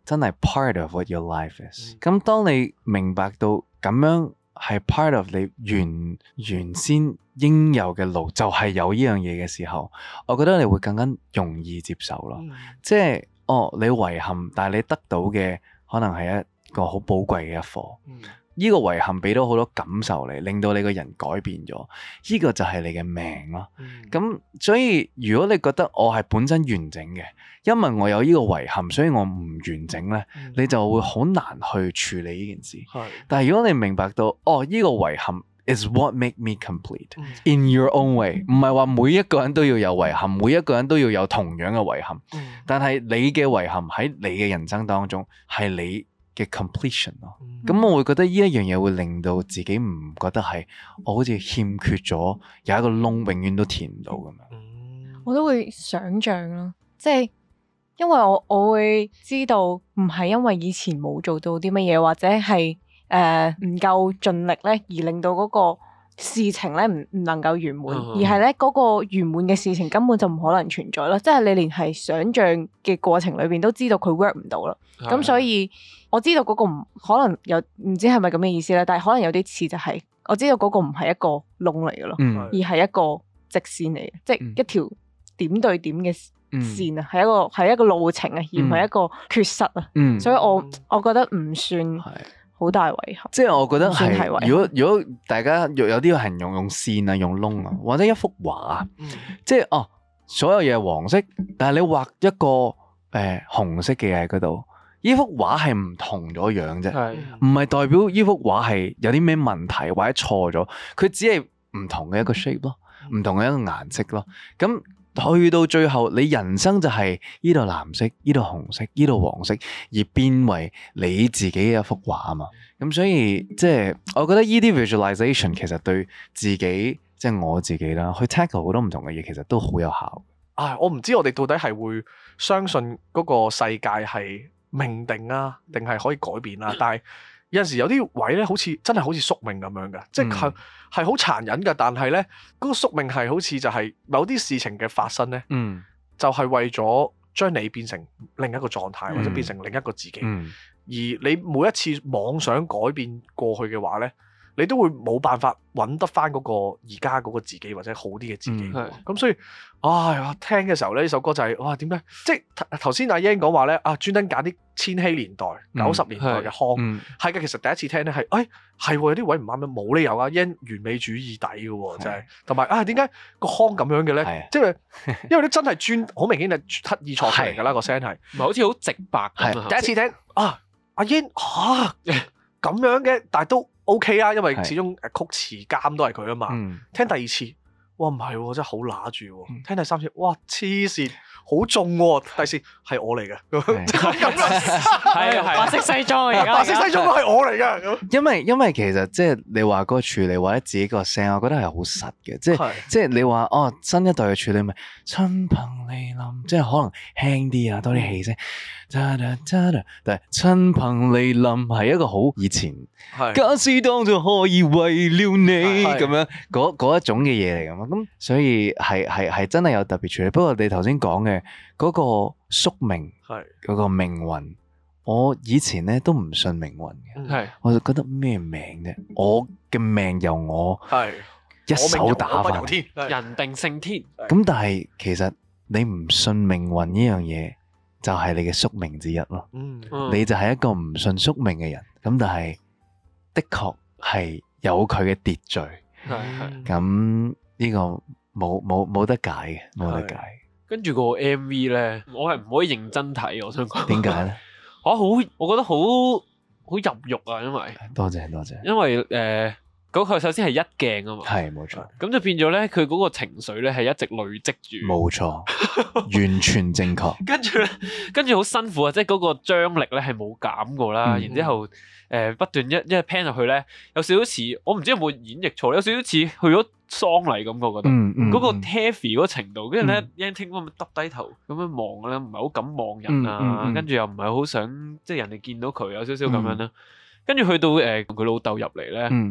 真係 part of what your life is。咁當你明白到咁樣係 part of 你原先應有嘅路，就係有呢樣嘢嘅時候，我覺得你會更加容易接受咯。即係你遺憾，但係你得到嘅可能係一個好寶貴嘅一課。呢個遺憾俾到好多感受你，令到你個人改變咗，呢個就係你嘅命咯。咁所以如果你覺得我係本身完整嘅，因為我有呢個遺憾，所以我唔完整呢，你就會好難去處理呢件事。但係如果你明白到呢個遺憾 is what make me complete in your own way， 唔係話每一個人都要有遺憾，每一個人都要有同樣嘅遺憾，但係你嘅遺憾喺你嘅人生當中係你嘅 completion 咯，咁我會覺得呢一樣嘢會令到自己唔覺得係我好似欠缺咗有一個窿，永遠都填唔到咁樣。 我都會想像咯，即係因為我會知道唔係因為以前冇做到啲乜嘢，或者係唔夠盡力咧，而令到嗰個事情咧唔能夠圓滿，而係咧嗰個圓滿嘅事情根本就唔可能存在咯。即係你連係想像嘅過程裏邊都知道佢 work 唔到啦。咁所以我知道嗰個唔可能有唔知係咪咁嘅意思咧，但係可能有啲似就係我知道嗰個唔係一個窿嚟嘅咯，而係一個直線嚟嘅，即係一條點對點嘅線啊，係一個路程啊，而唔係一個缺失啊。所以我覺得唔算好大遺憾。即係我覺得係，如果大家有啲人用線啊，用窿啊，或者一幅畫啊，即係所有嘢係黃色，但係你畫一個紅色嘅嘢喺嗰度。呢幅畫係唔同咗樣啫，唔係代表呢幅畫係有啲咩問題或者錯咗，佢只係唔同嘅一個 shape 咯，唔同嘅一個顏色咯。咁去到最後，你人生就係呢度藍色、呢度紅色、呢度黃色，而變為你自己嘅一幅畫啊嘛。咁所以即係我覺得呢啲 visualization 其實對自己即係我自己啦，去 tackle 好多唔同嘅嘢，其實都好有效。 我唔知我哋到底係會相信嗰個世界係命定啊，定係可以改變啊？但係有陣時有啲位咧，好似真係好似宿命咁樣嘅，即係好殘忍嘅。但係咧，嗰個宿命係好似就係某啲事情嘅發生咧，就係為咗將你變成另一個狀態，或者變成另一個自己。而你每一次妄想改變過去嘅話咧，你都會冇辦法揾得翻嗰個而家嗰個自己，或者好啲嘅自己。咁所以，我聽嘅時候咧，呢首歌就係哇，點解？即係頭先阿 Yan 講話咧，專登揀啲千禧年代、90年代嘅腔，係嘅。其實第一次聽咧係，係有啲位唔啱嘅，冇理由啊 Yan 完美主義底嘅，真係。同埋點解個腔咁樣嘅咧？即係因為都真係好明顯係刻意錯出嚟㗎啦，個聲係， 唔係好似好直白咁。 第一次聽阿 Yan 咁樣嘅，但係都 OK 啊，因為始終曲詞監都係佢啊嘛。聽第二次，哇唔係喎，真係好揦住喎。聽第三次，哇黐線，好重喎。第四係我嚟嘅， 係白色西裝而家， 白色西裝都係我嚟嘅。 因為其實即係你話嗰個處理或者自己個聲，我覺得係好實嘅。即係你話新一代嘅處理咪親朋離臨，即係可能輕啲啊，多啲氣聲。但係親朋離臨係一個好以前，假使當作可以為了你咁樣嗰一種嘅嘢嚟㗎嘛。咁所以係真係有特別處理。不過你頭先講嘅嗰個宿命，嗰個命運，我以前咧都唔信命運嘅，我就覺得咩命啫？我嘅命由我一手打翻， 人定勝天。 咁但係其實你唔信命運呢樣嘢，就係你嘅宿命之一咯。你就係一個唔信宿命嘅人。咁但係的確係有佢嘅秩序。咁呢個冇得解嘅，冇得解。 跟住個 MV 咧，我係唔可以認真睇。我想講點解咧？ 我覺得好入肉啊，因為多謝， 因為嗰個首先係一鏡啊嘛， 係冇錯。咁就變咗咧，佢嗰個情緒咧係一直累積住， 冇錯，完全正確。 跟住好辛苦啊，即係嗰個張力咧係冇減過啦。然之後不斷一 pan 入去咧，有少少似我唔知有冇演繹錯，有少少似去咗喪禮咁，我覺得嗰個 heavy 嗰個程度。跟住咧 Yan 聽咁耷低頭咁樣望咧，唔係好敢望人啊。跟住又唔係好想即係人哋見到佢，有少少咁樣啦。跟住去到佢老豆入嚟咧。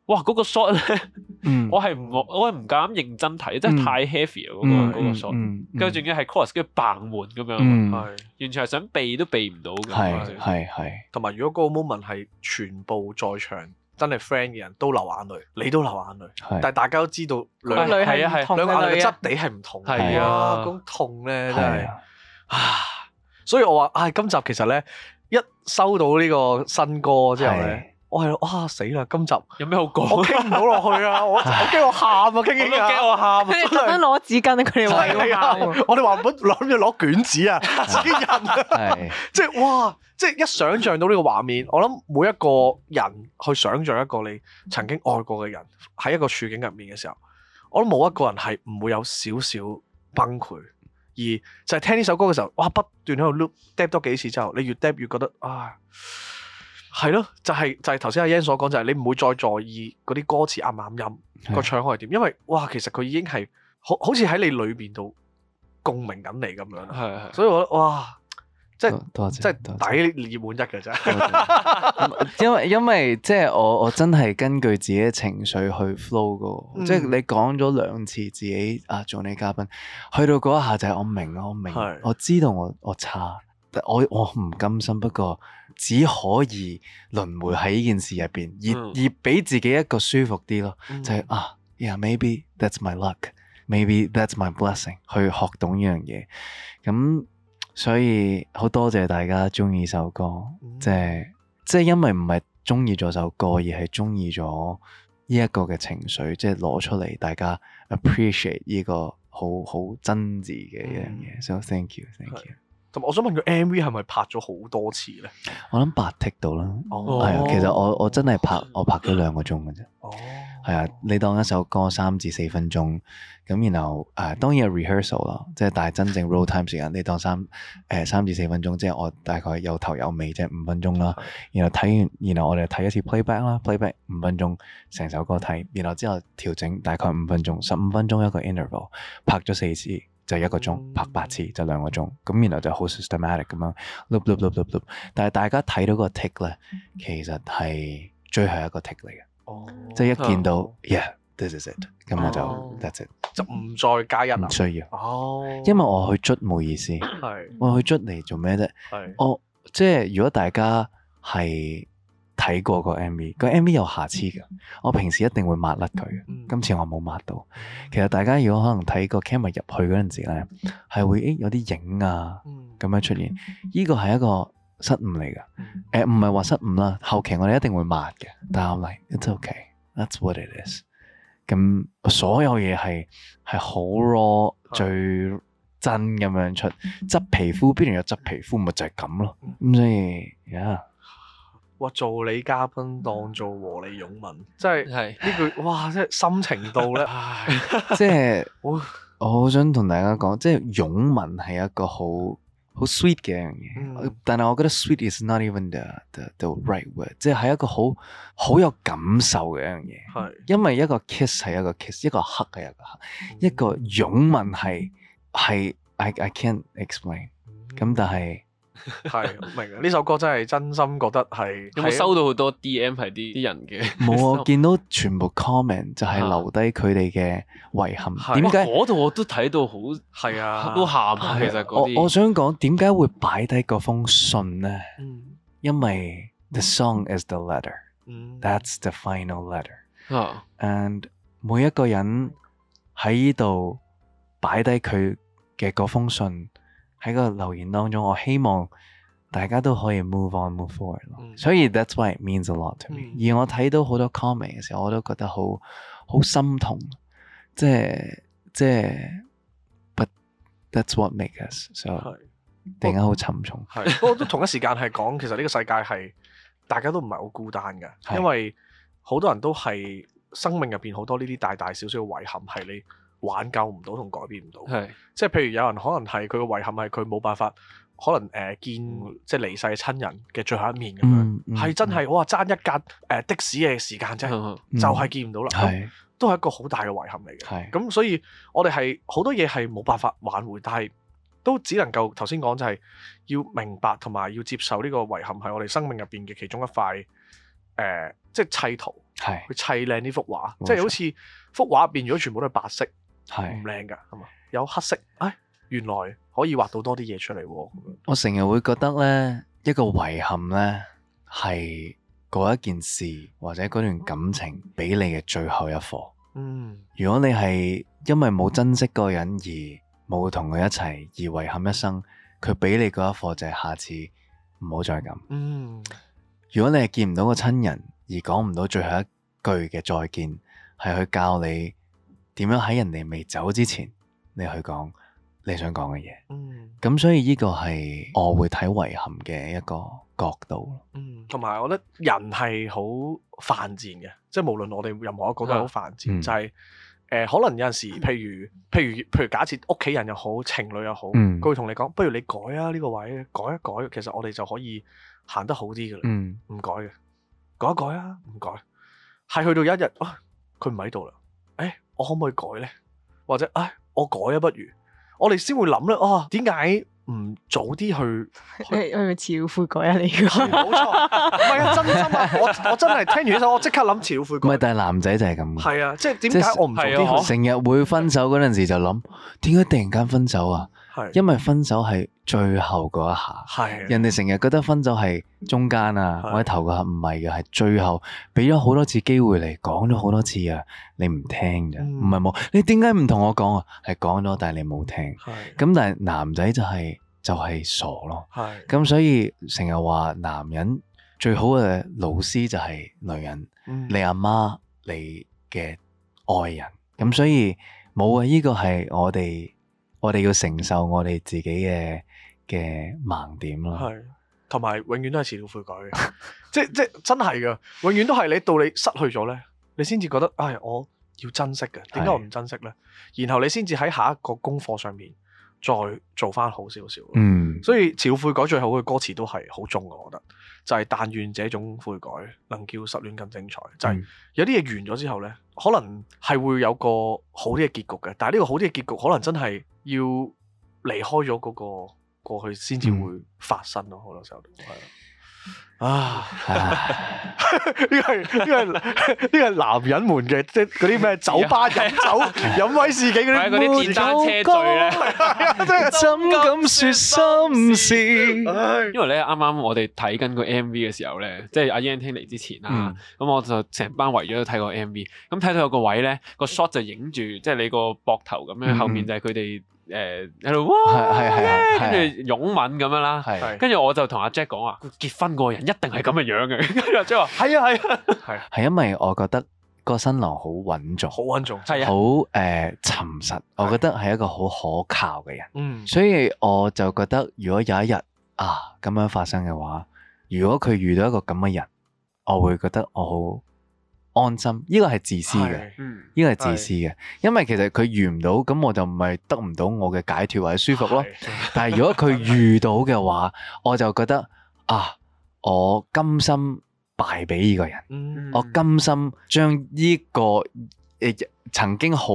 哇嗰個 shot 咧，我係唔夠膽認真睇，真係太 heavy 啊嗰個 shot，跟住仲要係 chorus 跟住嘭門咁樣，係完全係想避都避唔到嘅， 係， 同埋如果嗰個 moment 係全部在場真係 friend 嘅人都流眼淚，你都流眼淚，但係大家都知道兩個眼淚嘅質地係唔同，係啊，嗰種痛咧真係所以我話今集其實咧一收到呢個新歌之後咧。我係哇死啦！今集有咩好講？ 我傾唔到落去啊！我驚我喊啊！傾傾下， 驚我喊。 佢哋特登攞紙巾，佢哋話我哋話諗住攞卷紙啊，自己印啊！即係哇！即係一想像到呢個畫面，我諗每一個人去想像一個你曾經愛過嘅人喺一個處境入面嘅時候，我諗冇一個人係唔會有少少崩潰。而就係聽呢首歌嘅時候，哇！不斷喺度 loop 多幾次之後，你越 越覺得係咯，就係頭先阿 Yan 所講，就係你唔會再在意嗰啲歌詞啱唔啱音，個唱腔係點，因為哇，其實佢已經係好似喺你裏邊度共鳴緊你咁樣。係，所以我覺得哇，即係抵熱門一嘅啫。 因為即係我真係根據自己嘅情緒去 flow 噶，即係你講咗2次自己做你嘉賓，去到嗰一下就係我明，我知道我差。我唔甘心，不過只可以輪迴喺呢件事入邊，而俾自己一個舒服啲咯，就係yeah maybe that's my luck，maybe that's my blessing， 去學懂呢樣嘢。咁所以好多謝大家中意首歌，即係因為唔係中意咗首歌，而係中意咗呢一個嘅情緒，即係攞出嚟，大家 appreciate 呢個好真摯嘅一樣嘢。So thank you。 同埋我想問佢 MV 係咪拍咗好多次咧？ 我諗8 take 到啦，係啊，其實我真係拍咗2個鐘嘅啫。係啊，你當一首歌3至4分鐘，咁然後當然有 rehearsal 啦，即係但係真正 roll time 時間，你當3至4分鐘，即係我大概有頭有尾，即係5分鐘啦。然後然後我哋睇一次 playback 啦，playback 5分鐘，成首歌睇，然後之後調整大概5分鐘，15分鐘一個 interval， 拍咗4次。就1個鐘，拍8次就2個鐘，咁然後就好 systematic 咁樣 loop， 但係大家睇到個 take 咧，其實係最後一個 take 嚟嘅，即係一見到 yeah，this is it， 咁我就 that's it， 就唔再加一， 唔需要，因為我去捽冇意思，我去捽嚟做咩啫？我即係如果大家係睇過個 MV 有瑕疵嘅，我平時一定會抹甩佢嘅。今次我冇抹到。其實大家如果可能睇個 camera 入去嗰陣時咧，係會有啲影啊咁樣出現，呢個係一個失誤嚟嘅。唔係話失誤啦，後期我哋一定會抹嘅。但係我嚟 it's okay，that's what it is。咁所有嘢係好 raw 最真咁樣出，執皮膚邊度有執皮膚，咪就係咁咯。咁所以哇！做你嘉賓當做和你擁吻，即係呢句哇！即係深情到咧， 即係我好想同大家講，即係擁吻係一個好 sweet 嘅一樣嘢，但係我覺得 sweet is not even the right word， 即係一個好有感受嘅一樣嘢。因為一個 kiss 係一個 kiss， 一個 hug 係一個 hug， 一個擁吻係 I can't explain。咁但係。 係明啊！呢首歌真係真心覺得係有冇收到好多 DM 係啲人嘅？ 冇啊！見到全部 comment 就係留低佢哋嘅遺憾。點解嗰度我都睇到好係啊， 都喊啊！其實嗰啲我想講點解會擺低嗰封信咧？因為 the song is the letter，that's the final letter。And 每一個人喺呢度擺低佢嘅嗰封信。喺個留言當中，我希望大家都可以 move on move forward 咯。所以 that's why it means a lot to me。而我睇到好多 comment 嘅時候，我都覺得好心痛。即係 ，but that's what makes us。所以突然間好沉重。 係，不過都同一時間係講，其實呢個世界係大家都唔係好孤單嘅，因為好多人都係生命入邊好多呢啲大大小小嘅遺憾係你挽救唔到同改變唔到，即係譬如有人可能係佢嘅遺憾係佢冇辦法，可能見即係離世嘅親人嘅最後一面咁樣，係真係哇爭一格的士嘅時間啫，就係見唔到啦，都係一個好大嘅遺憾嚟嘅。咁所以我哋係好多嘢係冇辦法挽回，但係都只能夠頭先講就係要明白同埋要接受呢個遺憾係我哋生命入邊嘅其中一塊即係砌圖。 去砌靚呢幅畫，即係好似幅畫入邊如果全部都係白色，唔靚㗎，係嘛？有黑色，原來可以畫到多啲嘢出嚟喎。 我成日會覺得咧，一個遺憾咧係嗰一件事或者嗰段感情俾你嘅最後一課。如果你係因為冇珍惜嗰個人而冇同佢一齊而遺憾一生，佢俾你嗰一課就係下次唔好再咁。如果你係見唔到個親人而講唔到最後一句嘅再見，係去教你點樣喺人哋未走之前，你去講你想講嘅嘢。咁所以呢個係我會睇遺憾嘅一個角度。 同埋我覺得人係好犯賤嘅，即係無論我哋任何一個都係好犯賤，就係可能有陣時，譬如假設屋企人又好，情侶又好，佢會同你講，不如你改啊，呢個位改一改，其實我哋就可以行得好啲㗎啦。唔改嘅，改一改啊，唔改，係去到有一日佢唔喺度啦，我可唔可以改咧？或者我改啊，不如我哋先會諗咧，點解唔早啲去？ 係咪遲了悔改啊？你冇錯，唔係啊，真心啊！我真係聽完呢首，我即刻諗遲了悔改。 唔係，但係男仔就係咁。 係啊，即係點解我唔早啲去？ 成日會分手嗰陣時就諗，點解突然間分手啊？因為分手係最後嗰一下。人哋成日覺得分手係中間啊，或者頭嗰下，唔係嘅，係最後俾咗好多次機會嚟，講咗好多次啊，你唔聽咋？唔係冇，你點解唔同我講啊？係講咗，但係你冇聽。咁但係男仔就係傻咯。咁所以成日話男人最好嘅老師就係女人，你阿媽，你嘅愛人。咁所以冇啊，呢個係我哋要承受我哋自己嘅盲點咯。 係，同埋永遠都係遲了悔改嘅，即真係噶，永遠都係你到你失去咗咧，你先至覺得我要珍惜嘅。點解我唔珍惜咧？然後你先至喺下一個功課上面再做翻好少少。所以遲了悔改最後嘅歌詞都係好中嘅，我覺得就係但願這種悔改能叫失戀更精彩。就係有啲嘢完咗之後咧，可能係會有個好啲嘅結局嘅，但係呢個好啲嘅結局可能真係要離開咗嗰個過去先至會發生咯。好多時候都係呢個係男人們嘅，即係嗰啲咩酒吧飲酒飲威士忌嗰啲電單車醉咧， 怎敢說心事？ 因為咧啱啱我哋睇緊個 MV 嘅時候咧，即係阿 Yan 聽嚟之前啦，咁我就成班圍咗睇個 MV，咁睇到有個位咧，個 shot 就影住即係你個膊頭咁樣，後面就係佢哋喺度哇，跟住擁吻咁樣啦，跟住我就同阿 Jack 講話，結婚嗰個人一定係咁嘅樣嘅，跟住阿 Jack 話係啊， 係因為我覺得個新郎好穩重， 好穩重， 係好沉實，我覺得係一個好可靠嘅人，所以我就覺得如果有一日咁樣發生嘅話，如果佢遇到一個咁嘅人，我會覺得我好安心。呢個係自私嘅，呢個係自私嘅，因為其實佢遇唔到，咁我就唔係得唔到我嘅解脫或者舒服咯。但係如果佢遇到嘅話，我就覺得我甘心敗俾呢個人，我甘心將呢個曾經好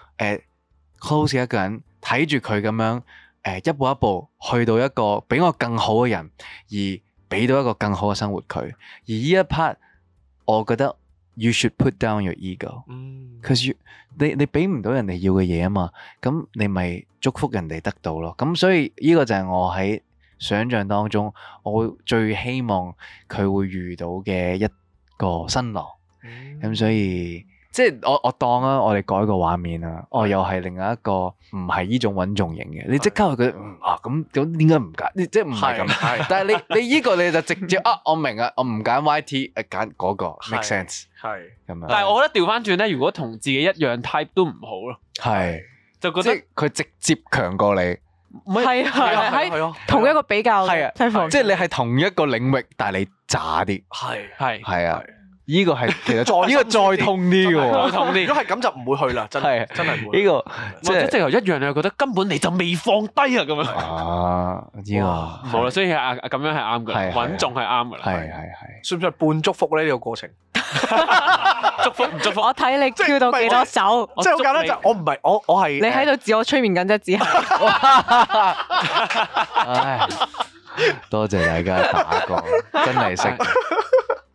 close 嘅一個人睇住佢咁樣一步一步去到一個比我更好嘅人，而俾到一個更好嘅生活佢。而呢一 part，我覺得 you should put down your ego，cause 你俾唔到人哋要嘅嘢啊嘛，咁你咪祝福人哋得到咯。咁所以呢個就係我喺想象當中，我最希望佢會遇到嘅一個新郎。咁所以即係我當我哋改個畫面啊，又係另外一個唔係呢種穩重型嘅，你即刻會覺得咁點解唔揀？即係唔係咁？但係你呢個你就直接我明啊，我唔揀 YT， 揀嗰個 make sense 係咁樣。 但係我覺得調翻轉咧，如果同自己一樣 type 都唔好咯， 係就覺得佢直接強過你。 係喺同一個比較， 即係你係同一個領域，但係你渣啲，係啊，呢個係其實呢個再痛啲嘅， 再痛啲。 如果係咁就唔會去啦，真係唔會。 呢個即係直頭一樣，你又覺得根本你就未放低啊咁樣。 呢個冇啦，所以咁樣係啱嘅，穩重係啱嘅啦。 係， 算唔算係半祝福咧？呢個過程祝福唔祝福？ 我睇你跳到幾多手， 即係好簡單就我唔係我係你喺度自我催眠緊啫，只係。 多謝大家打過，真係識。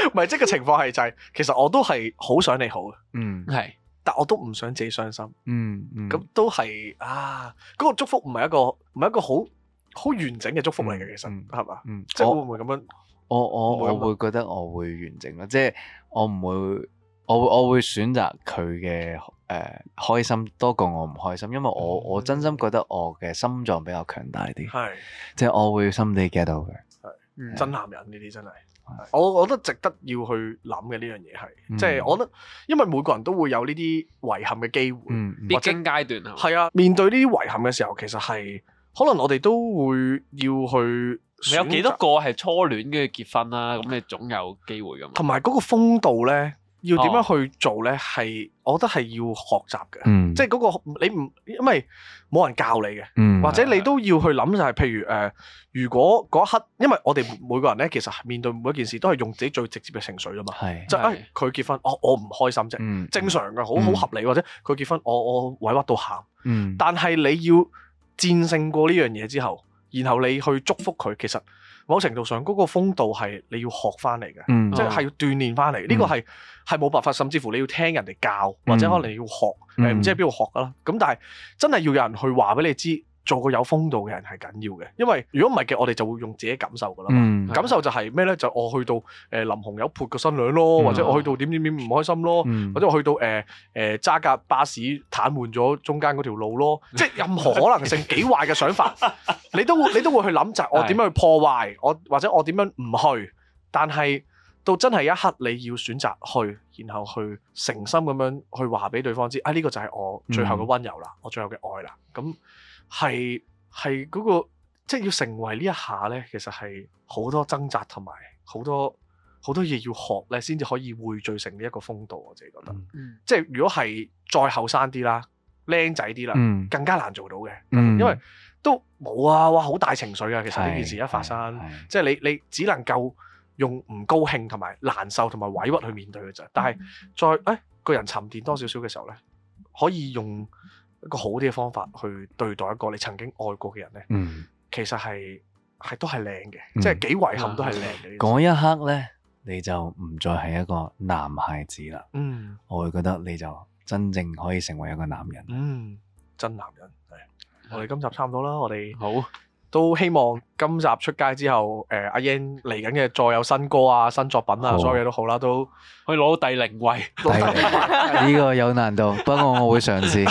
唔係，即係個情況係就係，其實我都係好想你好嘅， 係， 但我都唔想自己傷心，咁都係嗰個祝福唔係一個好完整嘅祝福嚟嘅，其實係嘛？即係會唔會咁樣？ 我會覺得我會完整咯，即係我唔會，我會選擇佢嘅開心多過我唔開心，因為我真心覺得我嘅心臟比較強大啲，係，即係我會心地 get 到嘅， 係真男人呢啲真係。我覺得值得要去諗嘅呢樣嘢係，即係我覺得，因為每個人都會有呢啲遺憾嘅機會， 必經階段係啊。面對呢啲遺憾嘅時候，其實係可能我哋都會要去。 你有幾多個係初戀跟住結婚啦？咁你總有機會㗎嘛。 同埋嗰個風度咧，要點樣去做咧？係我覺得係要學習嘅，即係嗰個你唔，因為冇人教你嘅，或者你都要去諗就係，譬如如果嗰一刻，因為我哋每個人咧，其實面對每一件事都係用自己最直接嘅情緒㗎嘛，就佢結婚，我唔開心啫，正常嘅，好合理，或者佢結婚，我委屈到喊，但係你要戰勝過呢樣嘢之後。然後你去祝福佢，其實某程度上嗰個風度係你要學翻嚟嘅，即係要鍛鍊翻嚟。呢個係冇辦法，甚至乎你要聽人哋教，或者可能你要學，唔知喺邊度學噶啦。咁但係真係要有人去話俾你知。做個有風度嘅人係緊要嘅，因為如果唔係嘅，我哋就會用自己感受噶啦嘛。感受就係咩咧？就我去到淋紅油潑個新娘咯，或者我去到點唔開心咯，或者我去到揸架巴士癱瘓咗中間嗰條路咯，即係任何可能性幾壞嘅想法，你都會去諗就係我點樣去破壞，或者我點樣唔去，但係到真係一刻你要選擇去，然後去誠心咁樣去話俾對方知，呢個就係我最後嘅溫柔啦，我最後嘅愛啦，咁。係嗰個，即係要成為呢一下咧，其實係好多掙扎同埋好多嘢要學咧，先至可以匯聚成呢一個風度。我自己覺得，即係如果係再後生啲啦、僆仔啲啦，更加難做到嘅，因為都冇哇好大情緒啊！其實呢件事一發生，即係你只能夠用唔高興同埋難受同埋委屈去面對嘅啫。但係再個人沉澱多少少嘅時候咧，可以用一個好啲嘅方法去對待一個你曾經愛過嘅人咧，其實係都係靚嘅，即係幾遺憾都係靚嘅。 嗰一刻咧，你就唔再係一個男孩子啦。我會覺得你就真正可以成為一個男人。 真男人係。我哋今集差唔多啦，我哋好都希望今集出街之後，阿 Yan 嚟緊嘅再有新歌啊、新作品啊，所有嘢都好啦，都可以攞到第0位。 呢個有難度，不過我會嘗試。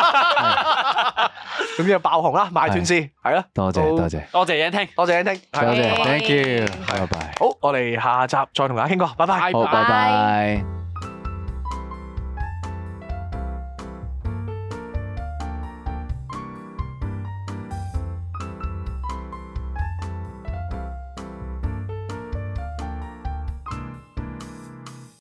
咁就爆紅啦，賣斷先，係啦。 多謝 Yan 聽，多謝 ，Thank you，拜拜。 好，我哋下集再同大家傾過，拜拜。 好，拜拜。